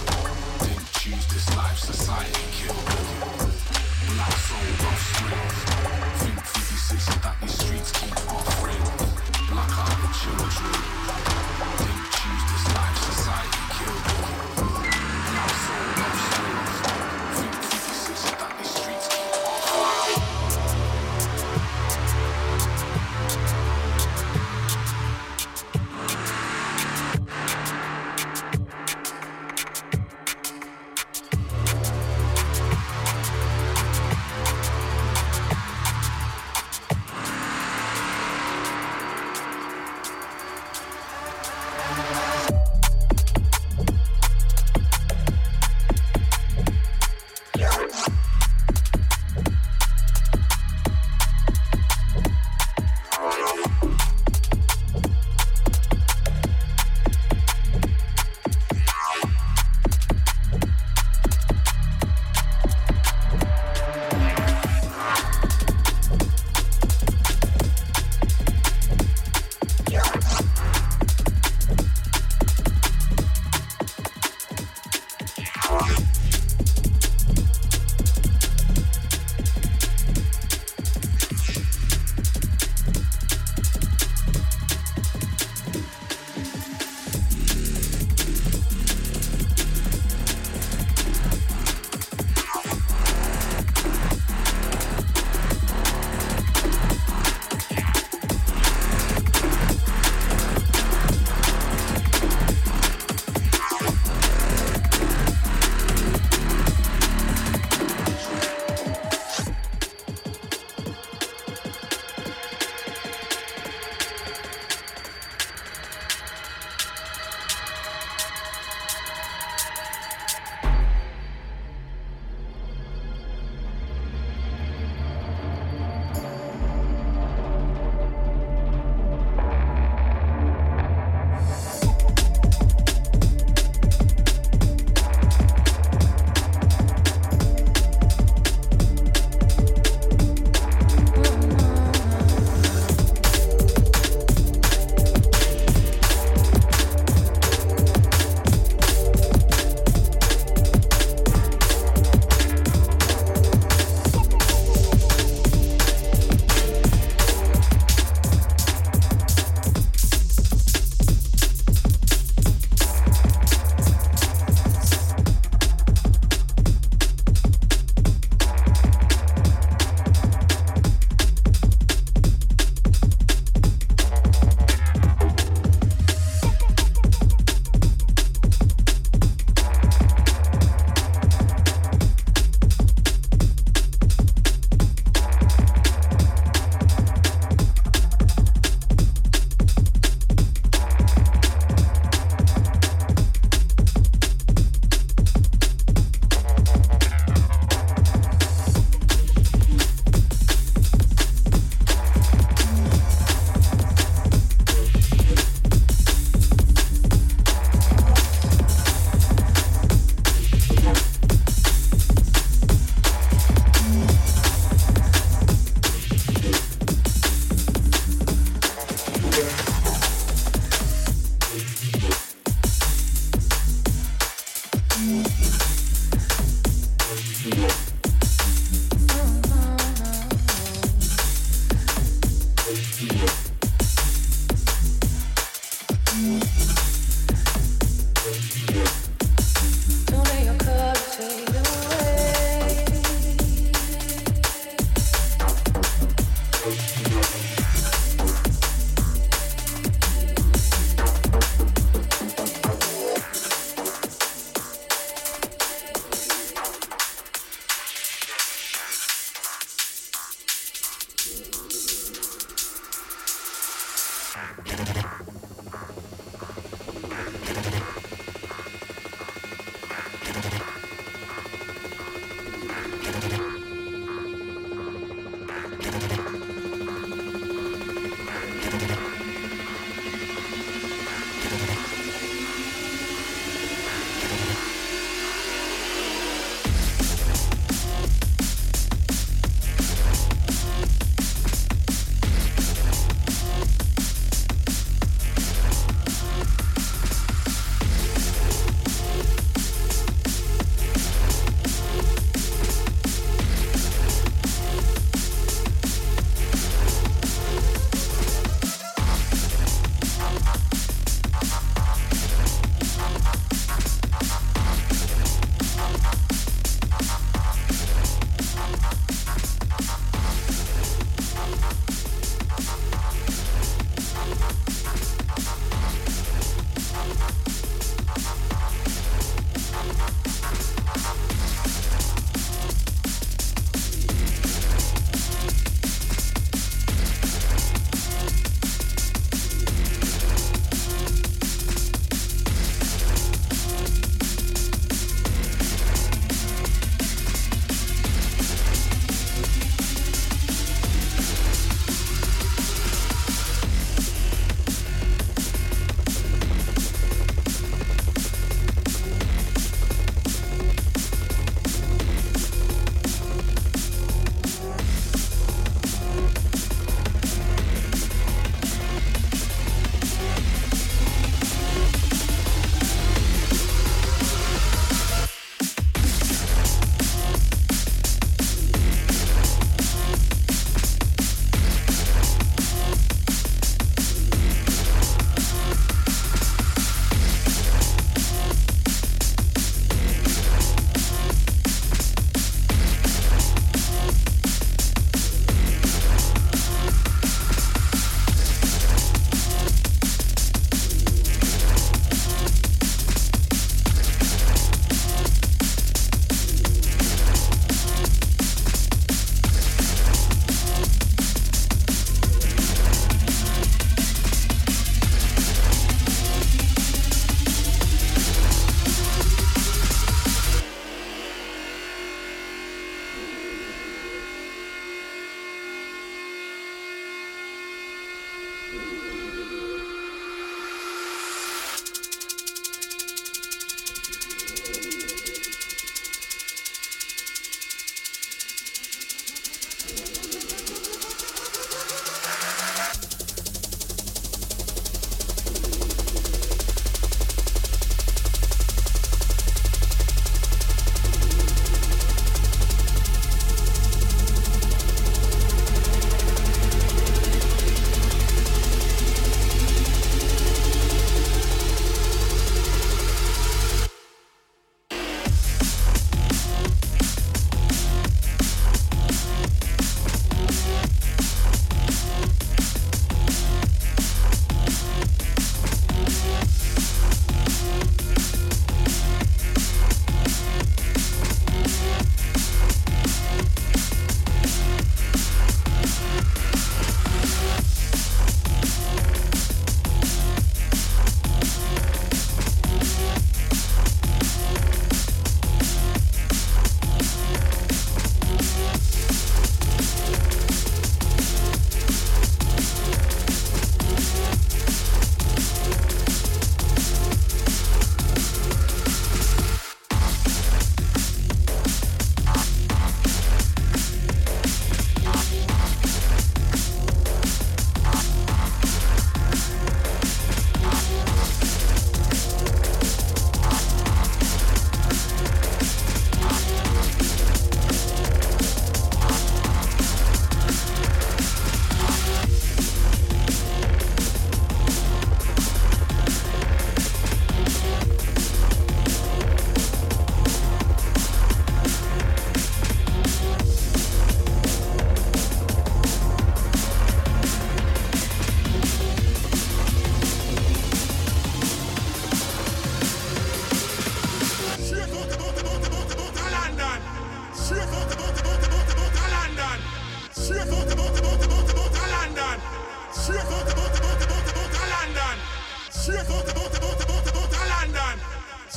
didn't choose this life, society killed them. Black soul offspring think fifty-six that these streets keep offering. Black-hearted children didn't choose this life, society killed them. Black soul offspring think fifty-six that these streets keep offering.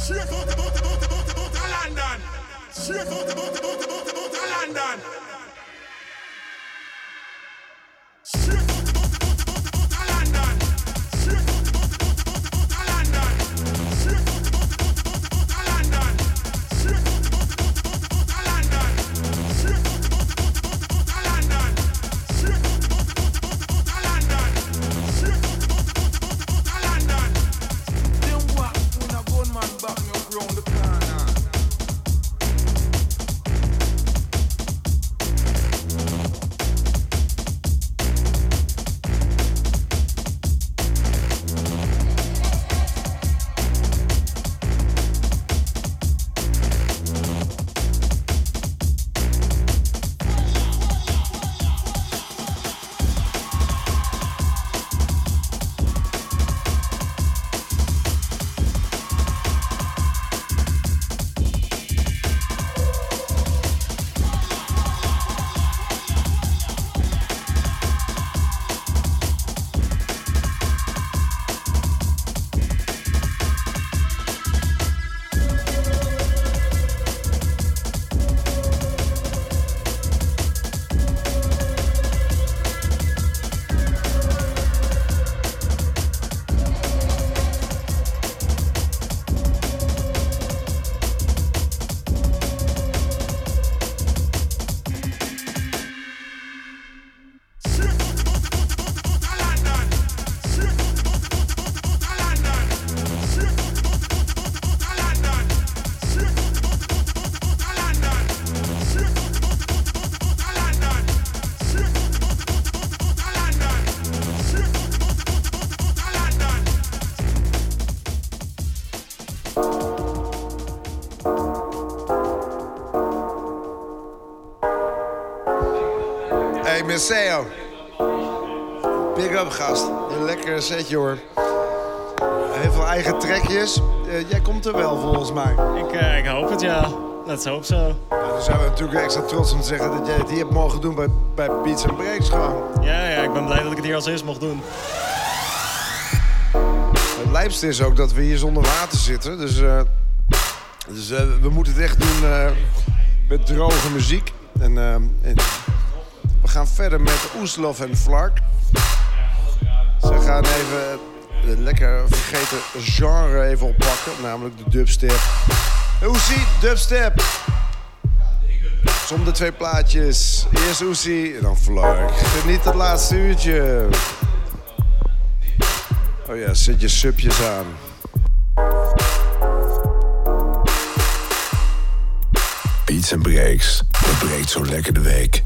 Straight out about, about, about, about a London. Straight out about, about, about, about a London. Straight out about, about, about, about a London. Straight out about, about, about, about a London. Straight out about, about, about, about a London. Straight out about, about, about, about a London. Straight out about, about, about, about a London. Straight out about, about, about, about a London. Straight out about, about, about, about a London. Them walk when a gunman back me up round the corner. Hey, Maceo. Big up, gast. Een lekkere setje, hoor. Heel veel eigen trekjes. Uh, jij komt er wel, volgens mij. Ik, uh, ik hoop het, ja. Let's hope so. Nou, dan zijn we natuurlijk extra trots om te zeggen dat jij het hier hebt mogen doen bij, bij Beats and Breaks gewoon. Ja, ja, ik ben blij dat ik het hier als eerst mocht doen. Het lijpste is ook dat we hier zonder water zitten. Dus, uh, dus uh, we moeten het echt doen uh, met droge muziek. En, uh, en we gaan verder met Oeslof en Flark. Ze gaan even het lekker vergeten genre even oppakken. Namelijk de dubstep. Oesie, dubstep. Som de twee plaatjes. Eerst Oesie en dan Flark. Geniet het laatste uurtje. Oh ja, zet je subjes aan. Beats and Breaks, dat breekt zo lekker de week.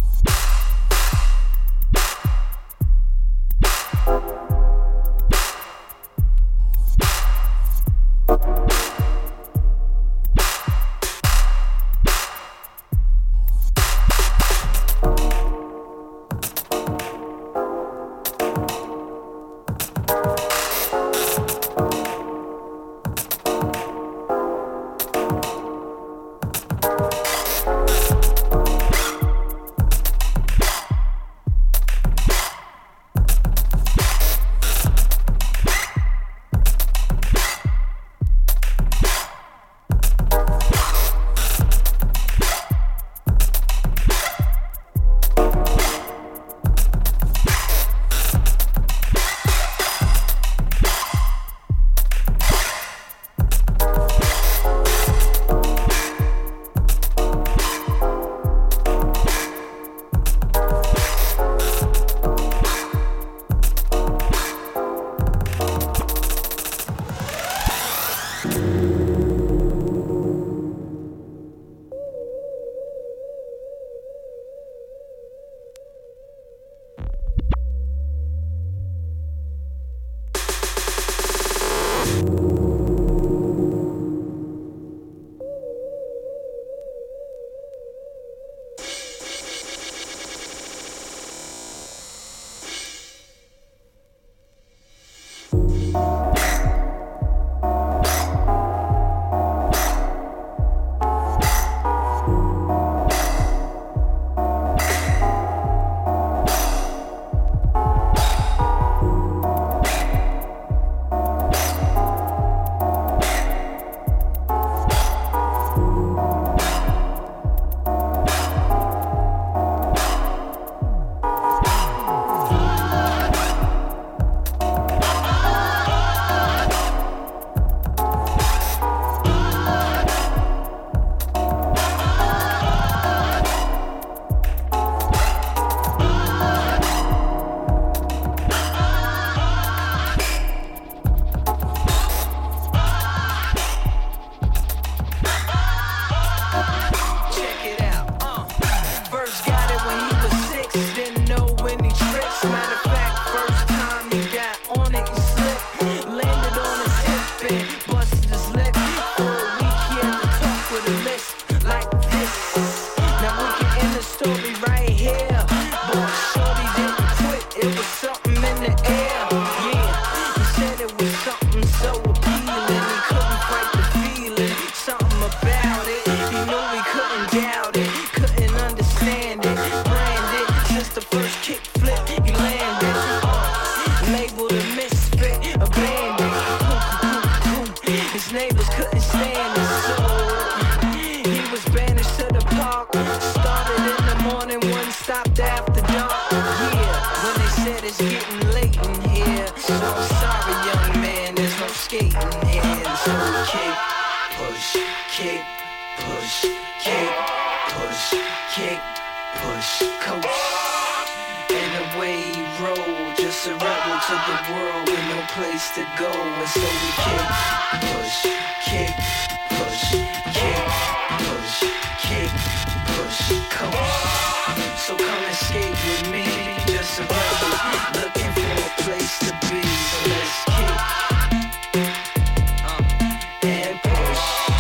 story right here. But shorty didn't quit, it was something in the air. Yeah, he said it was something so appealing. He couldn't fight the feeling, something about it. He knew he couldn't doubt it, couldn't understand it. Brand it, since the first kick flip, he landed. Uh, labeled a misfit, abandoned. His neighbors couldn't stand it, so he was banished to the park. Started in the morning, one stopped after dark. Yeah, when they said it's getting late in here, so I'm sorry, young man, there's no skating here. So kick, push, kick, push, kick, push, kick, push, coach. And the way he rolled, just a rebel to the world with no place to go. And so we kick, push, kick, push, kick, push, kick, push, coach. So come and skate with me, just a rebel looking for a place to be. So let's kick, uh, and push,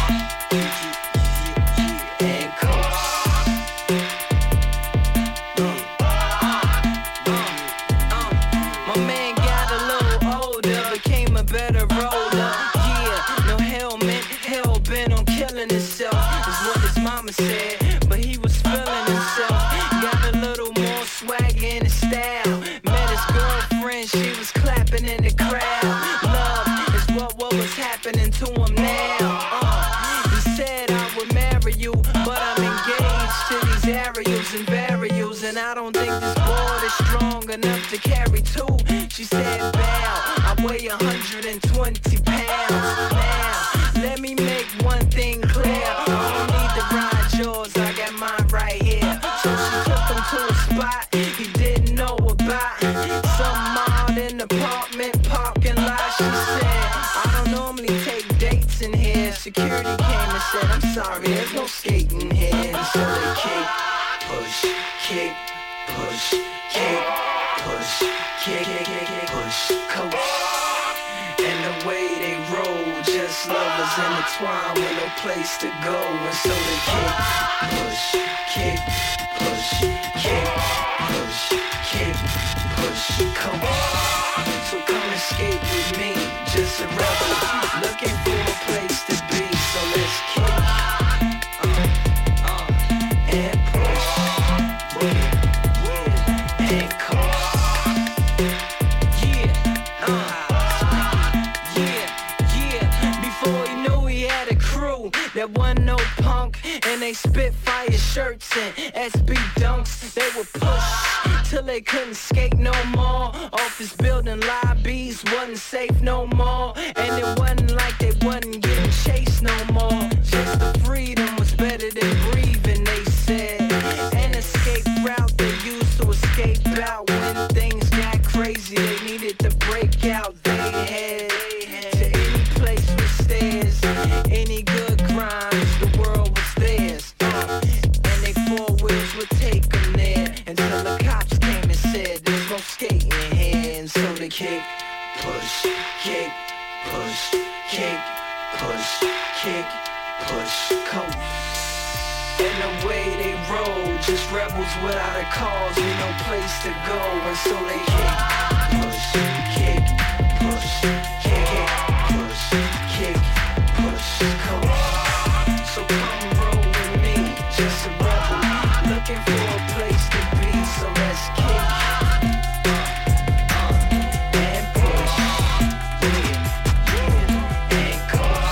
and coach. My man got a little older, became a better roller. Yeah, no helmet, hell bent on killing himself, is what his mama said. But he was feeling himself, got a little more swag in his style. Met his girlfriend, she was clapping in the crowd. Love is what, what was happening to him now. Uh, he said I would marry you, but I'm engaged to these aerials and burials, and I don't think this board is strong enough to carry two. She said, bow, I weigh one hundred twenty pounds. Now, let me make one thing clear. I don't need to ride yours, I got mine right here. So she took him to a spot he didn't know about. Some odd in the apartment parking lot. She said, I don't normally take dates in here. Security came and said, I'm sorry, there's no skating here. And so they kick, push, kick, push, kick, push, kick, kick, kick, push, coach. And the way they roll, just lovers intertwined with no place to go. And so they kick, push, kick, push, kick, push, kick, push, coach. So come and skate with me, just a rebel looking for a place to be. So let's kick, uh, uh, and push, and coach. Yeah, uh, yeah, yeah. Before he knew he had a crew that wasn't no punk, and they spit fire shirts and S B dunks. They would push till they couldn't skate no more. Office building lobbies wasn't safe no more, and it wasn't like they wasn't getting chased no more. Just the freedom was better than breathing, they said. An escape route they used to escape out when things got crazy. They needed to break out. They had to any place with stairs, any good crimes, the world was theirs. Uh, and they four wheels would take them there until the cops came and said there's no skating here. And so they kick, push, kick, push, kick, push, kick, push, coach. And the way they roll, just rebels without a cause with no place to go. And so they kick, push, kick, push, kick, push, kick, push, coach. So come roll with me, just a rebel looking for a place to be. So let's kick, uh, uh, and push, yeah, yeah, and coach.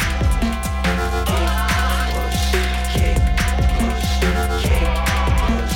Push, kick, push, kick, push,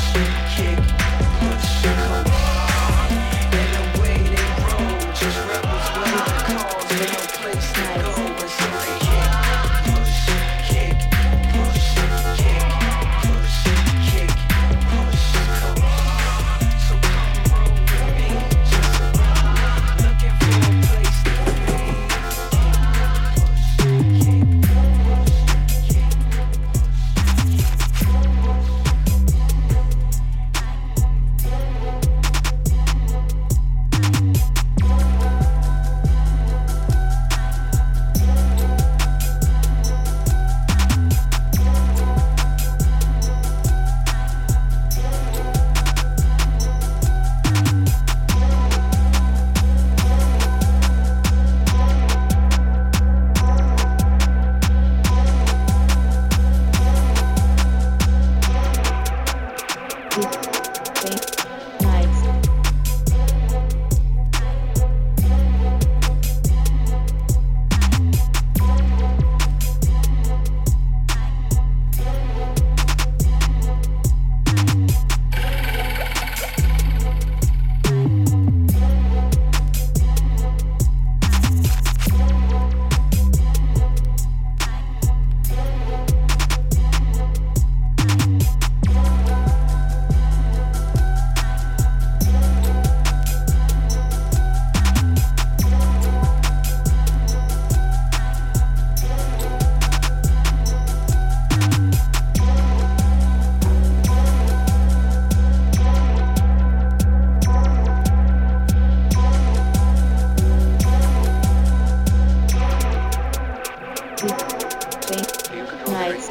Nights.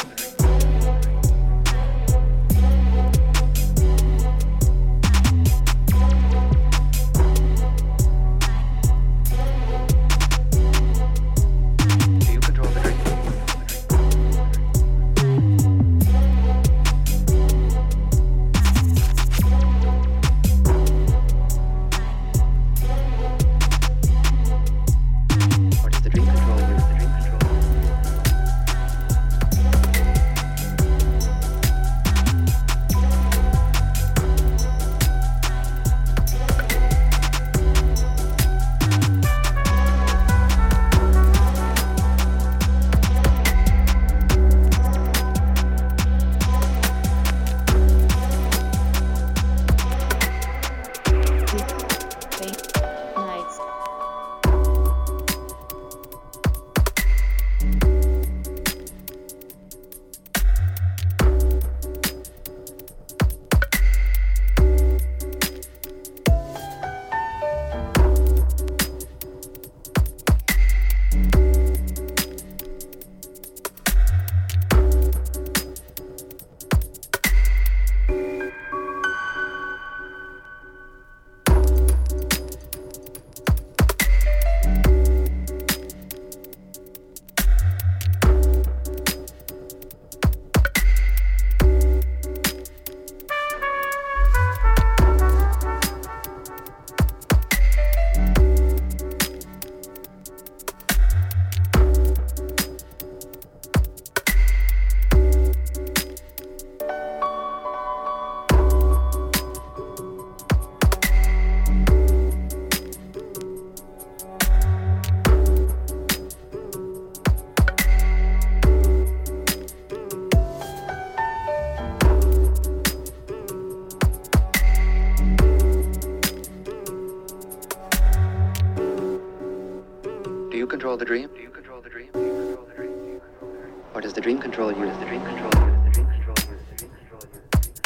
control the dream? Do you control the dream? Do you control the dream? Or does the dream control you? Does the dream control you? Does the dream control you? Does the dream control you?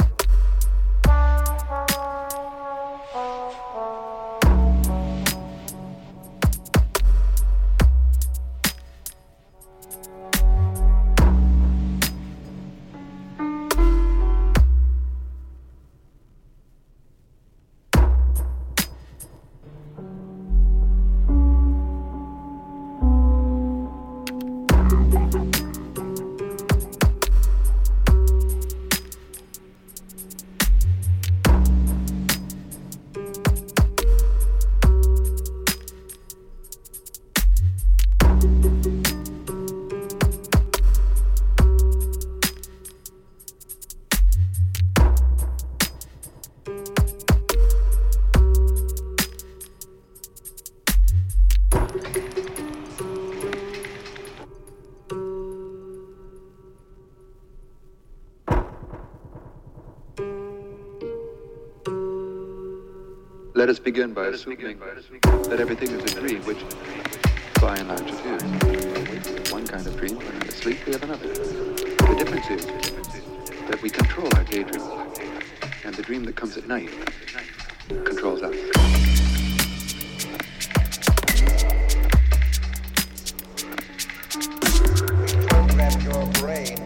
Let us begin by assuming that everything is a dream, which, by and large, it is. One kind of dream, when we're asleep, we have another. The difference is that we control our daydream, and the dream that comes at night controls us. Program your brain.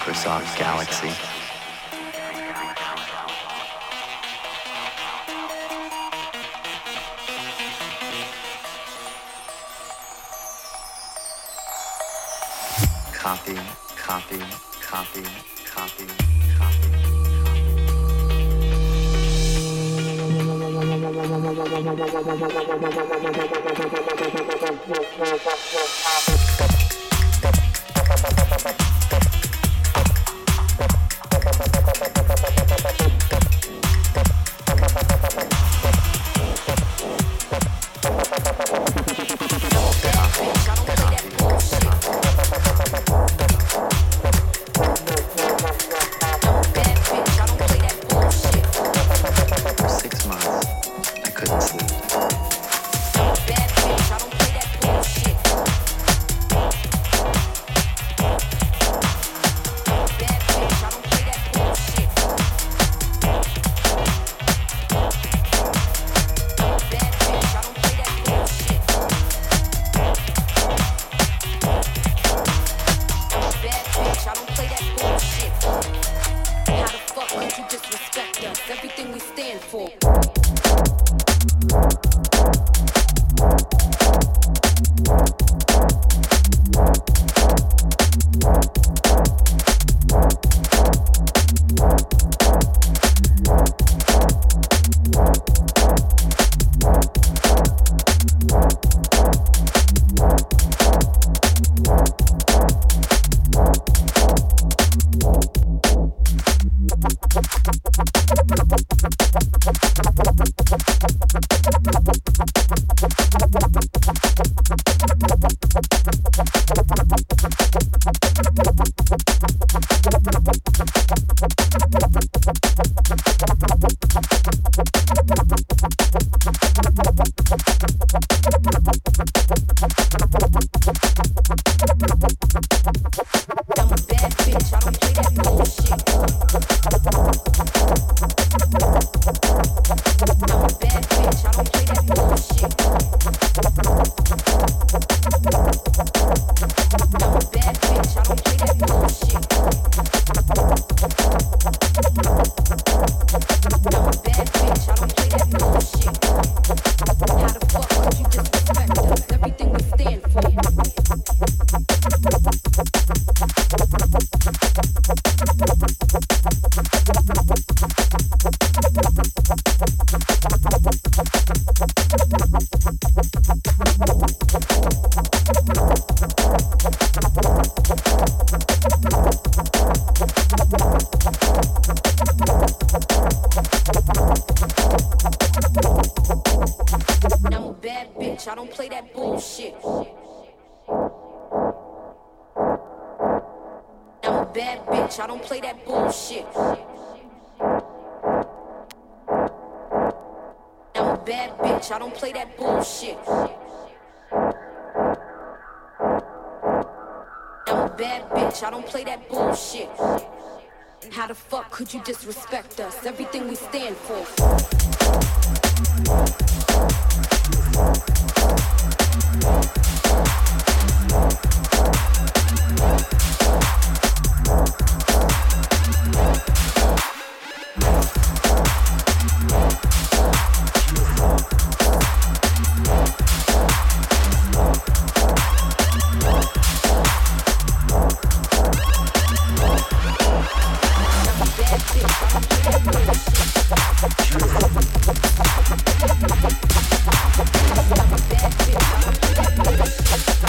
Microsoft Galaxy. Copy, copy, copy, copy, copy. Could you disrespect us? Everything we stand for. Bad bitch,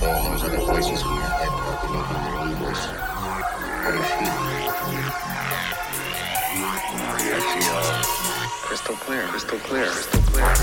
all those other voices in your head talking over your own voice. How do you feel? I feel crystal clear, crystal clear, crystal clear.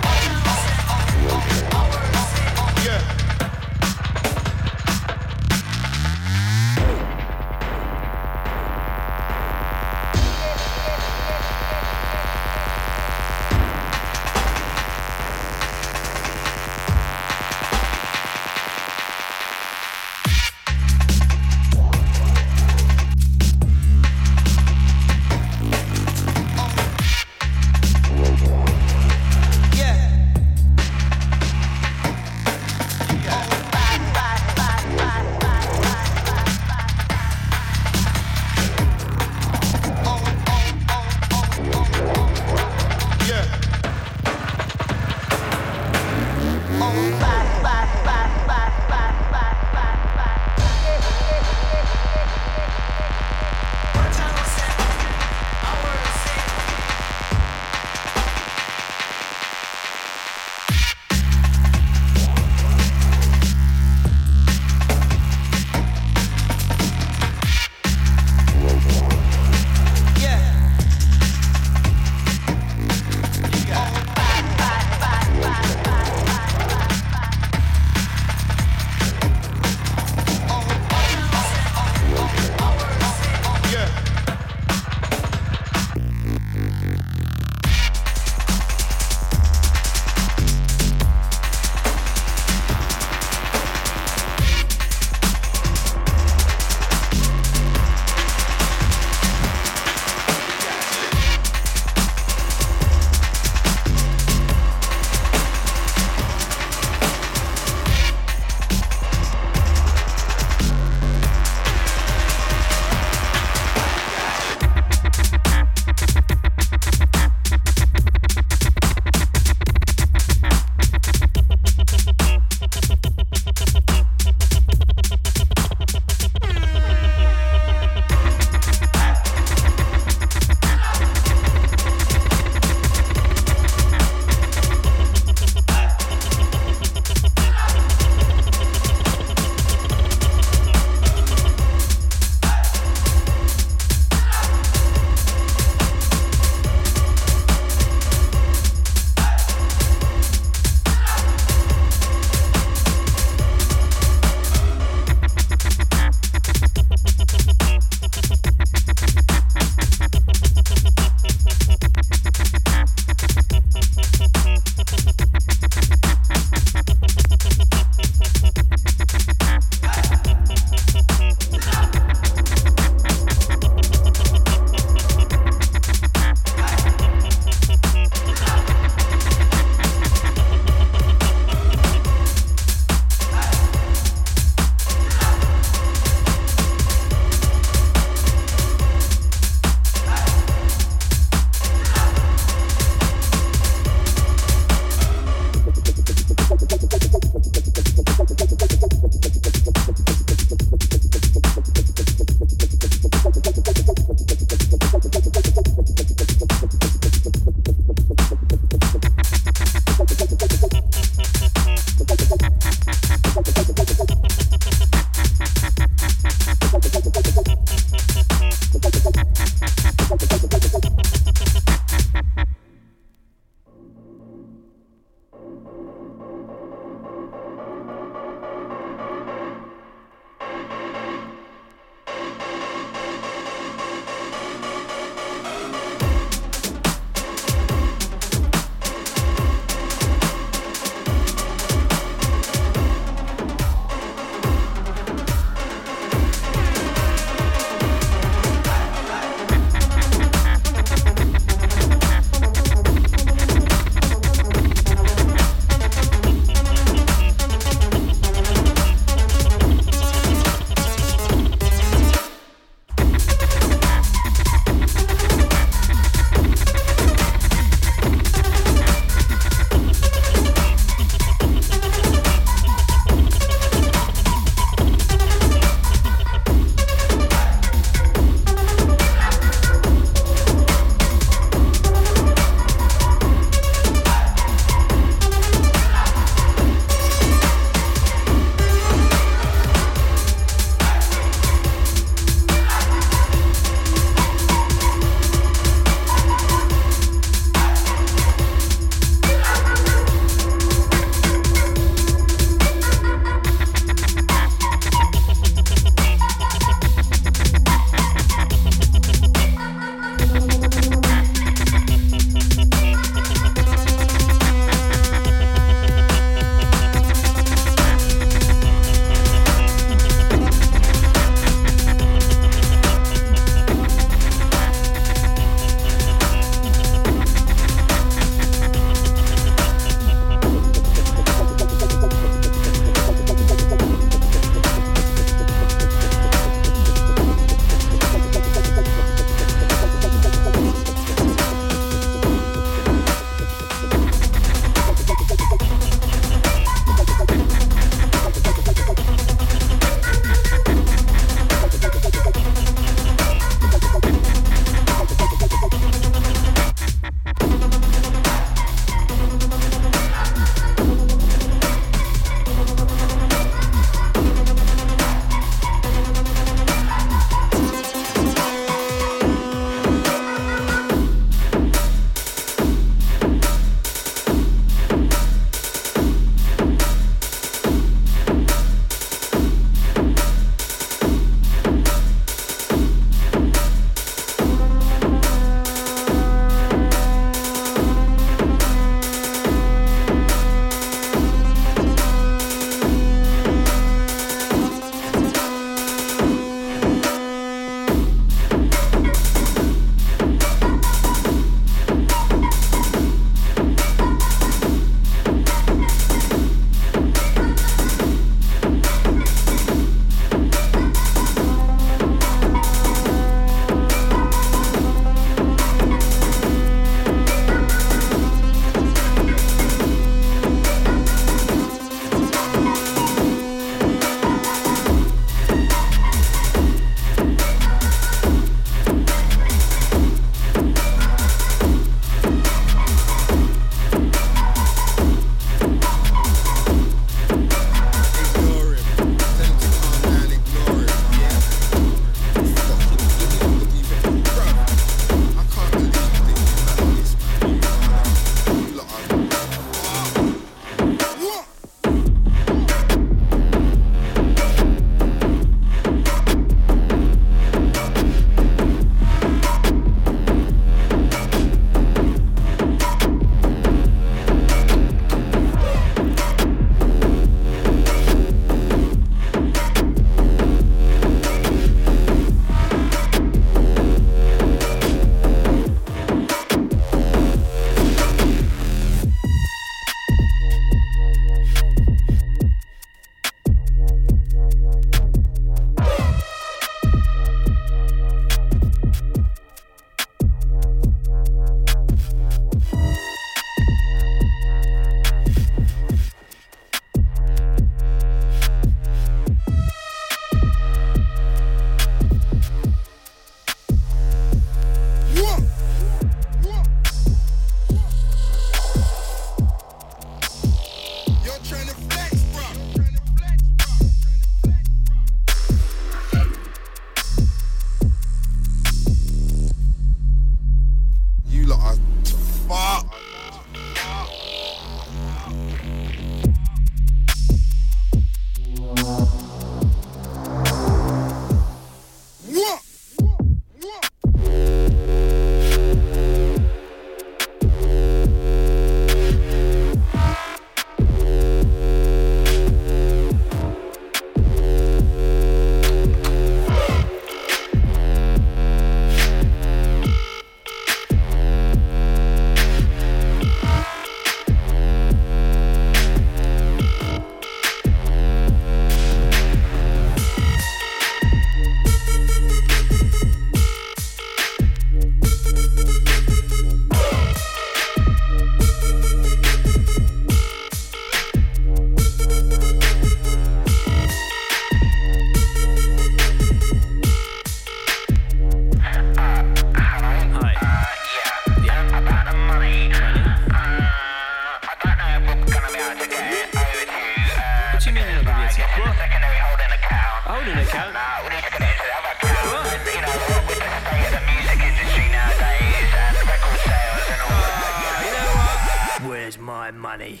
account. Nah, we need to get into the other account. What? You know, what with the state of the music industry nowadays and record sales and all uh, that. You know what? Where's my money?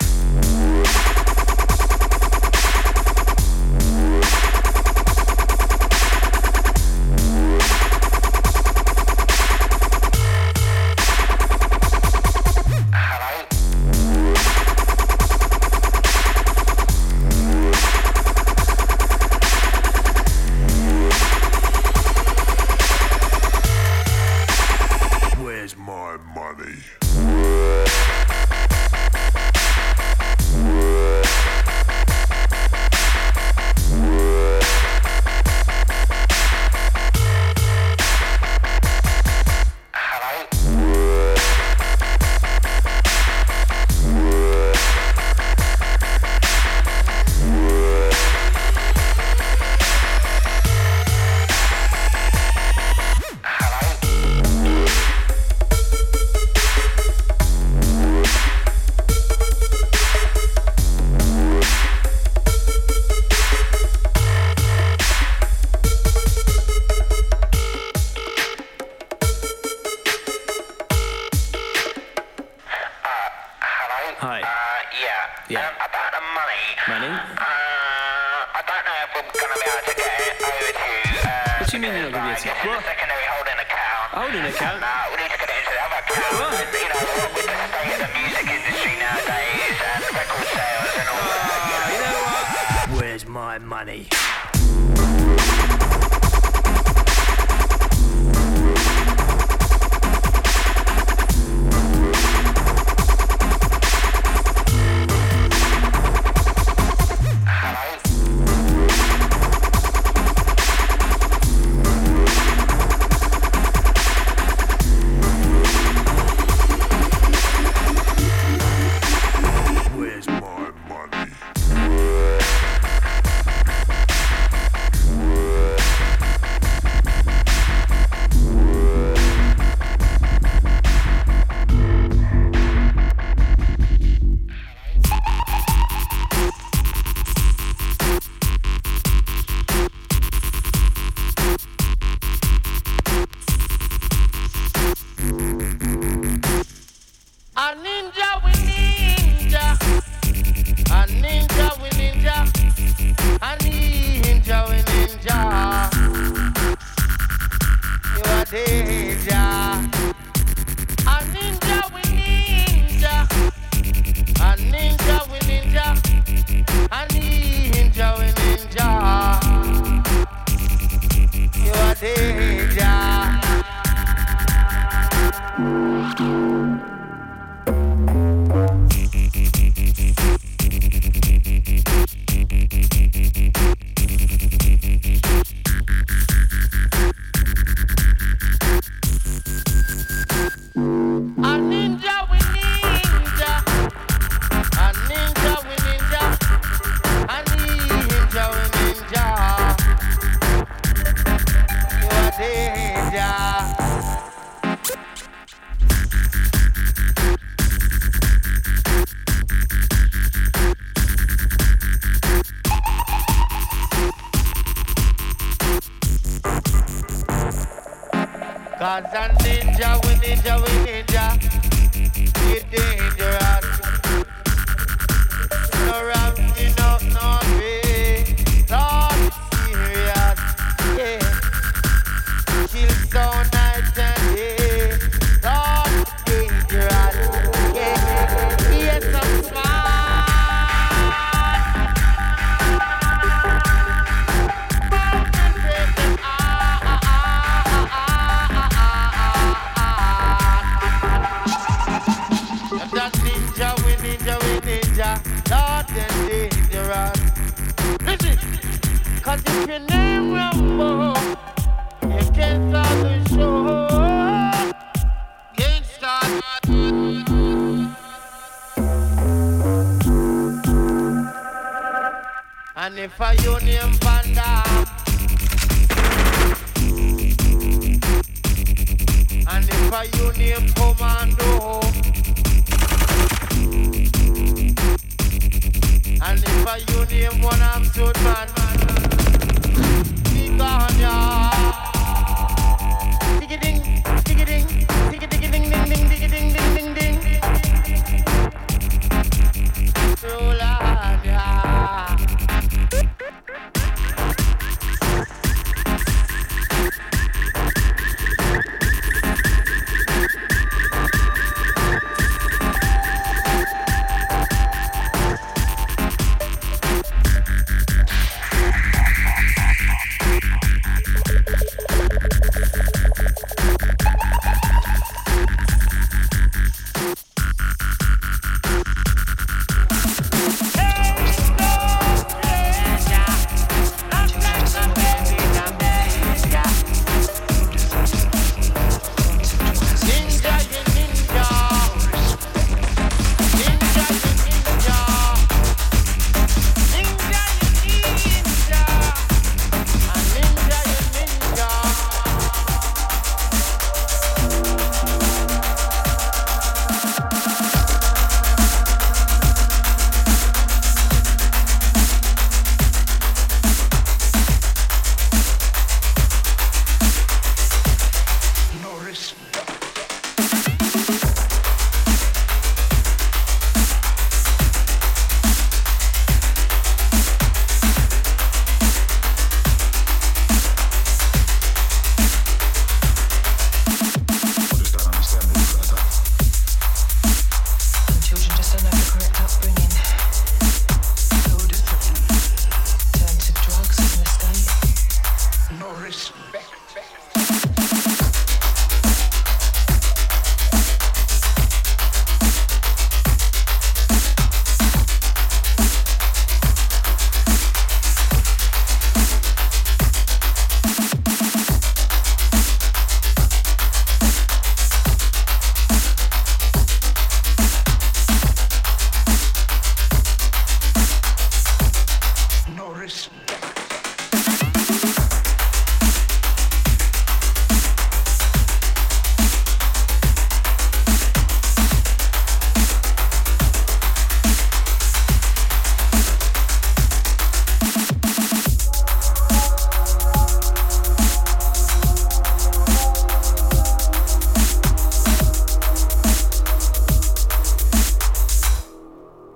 Cause a ninja, we ninja, we ninja, we dangerous. No ramping up, no way, Lord serious, yeah. Chill so nice and day, Lord dangerous, yeah. Yes, I'm smart. Cause if your name Rambo, you can't start the show. Can't start. And if I your name Panda, and if I your name Commando, and if I you name one absolute man,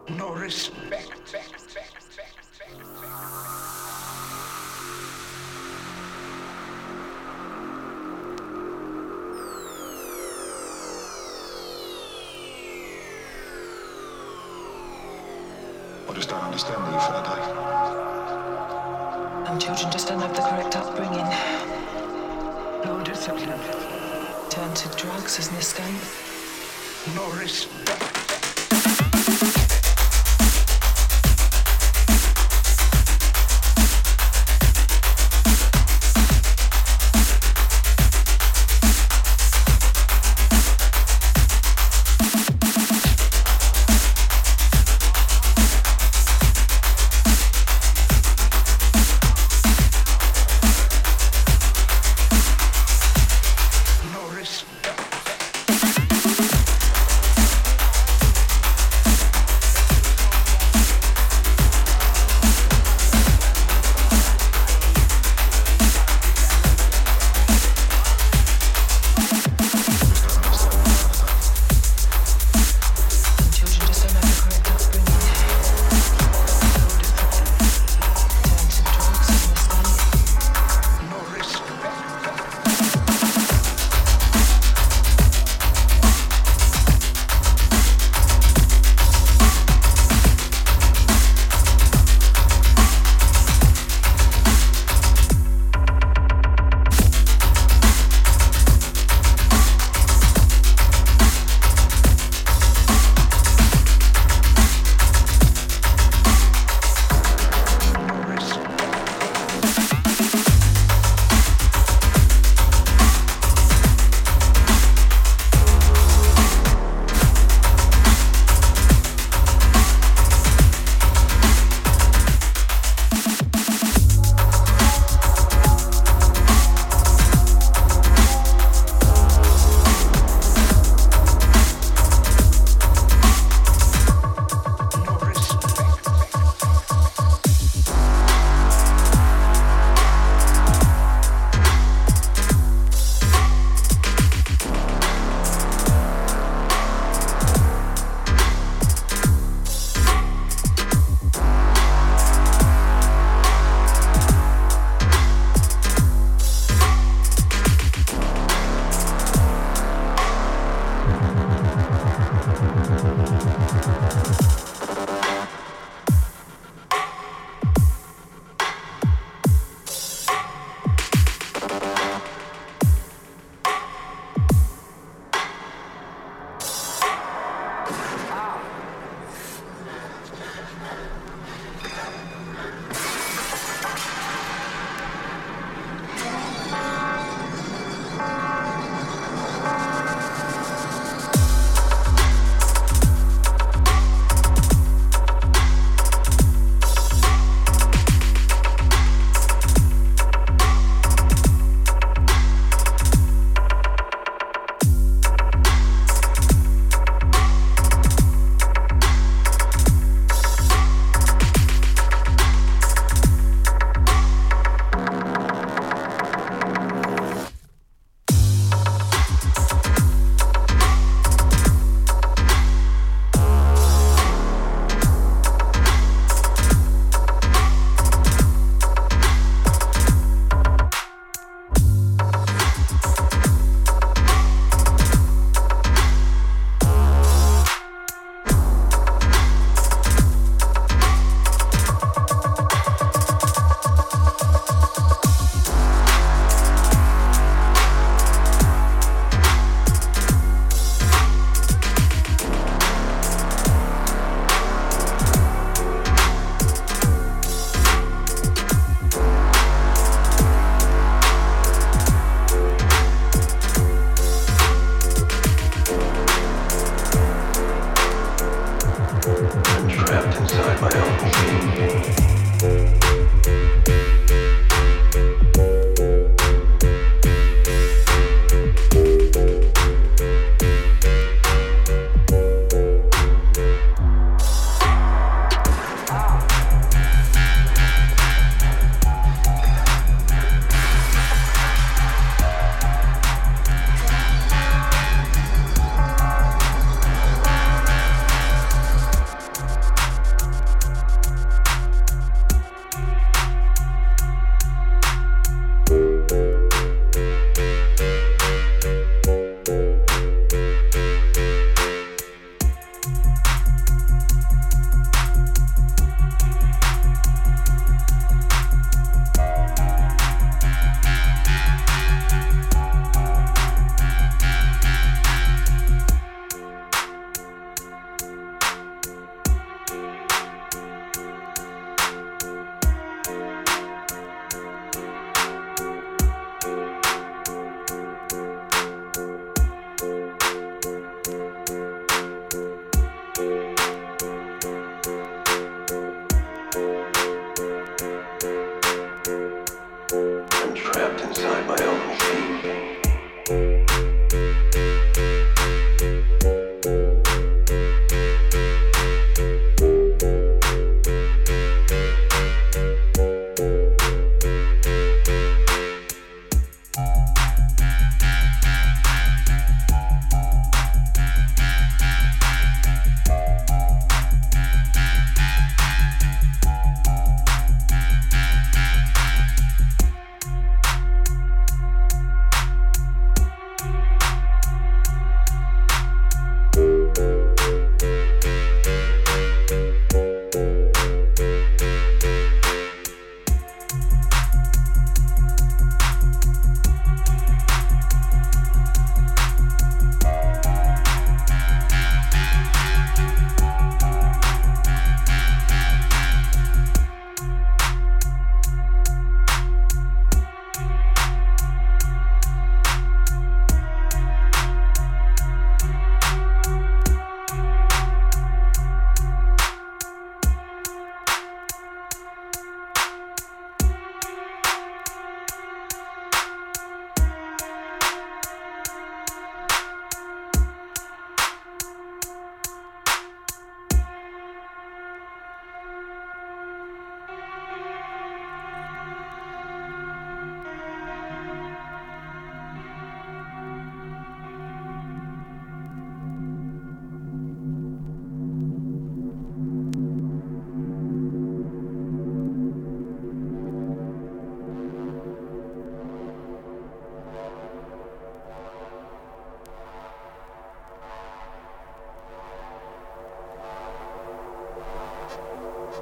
no respect. I just don't understand you, Faraday. Some children just don't have the correct upbringing. No discipline. Turn to drugs as an escape. No respect.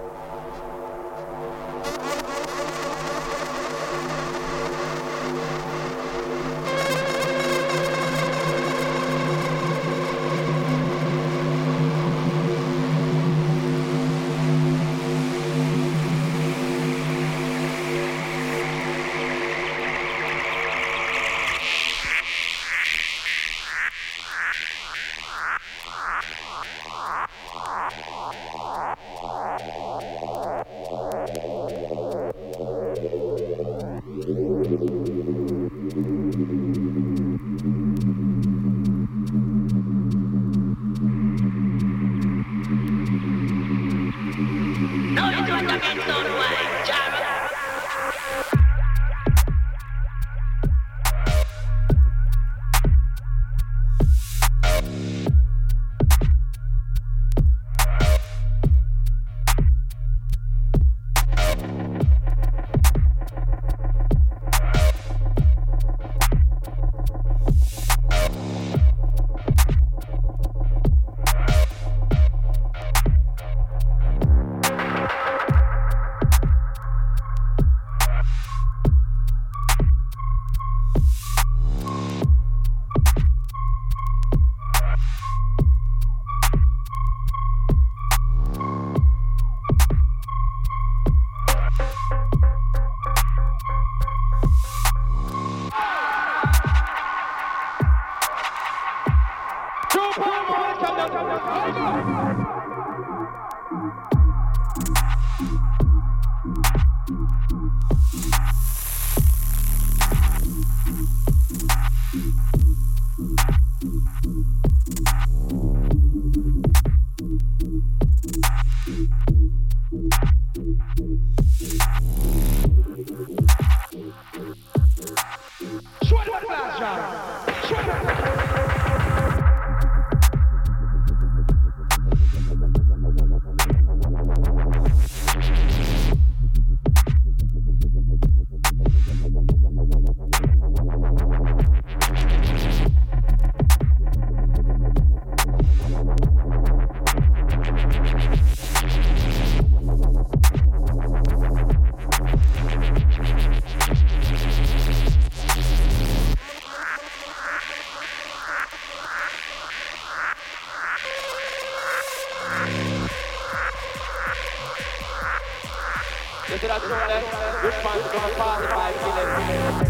Ispirazione, rispondo come fare, vai, fine.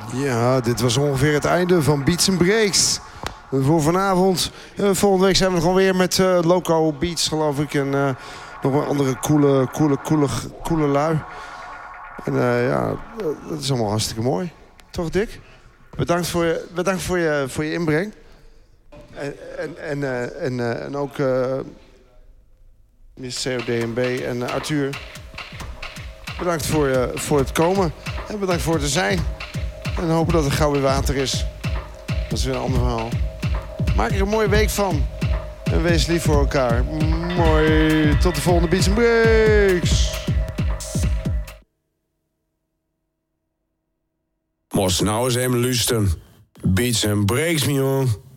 Ja, dit was ongeveer het einde van Beats and Breaks. Voor vanavond. Uh, volgende week zijn we gewoon weer met uh, Loco Beats, geloof ik. En uh, nog een andere coole, coole, coole, coole lui. En uh, ja, dat is allemaal hartstikke mooi. Toch, Dick? Bedankt voor je, bedankt voor je, voor je inbreng. En, en, en, uh, en, uh, en ook uh, mister C O D M B en uh, Arthur. Bedankt voor, uh, voor het komen. En bedankt voor het er zijn. En hopen dat er gauw weer water is. Dat is weer een ander verhaal. Maak er een mooie week van. En wees lief voor elkaar. Mooi. Tot de volgende Beats and Breaks. Moest nou eens even luisteren. Beats and Breaks, me jong.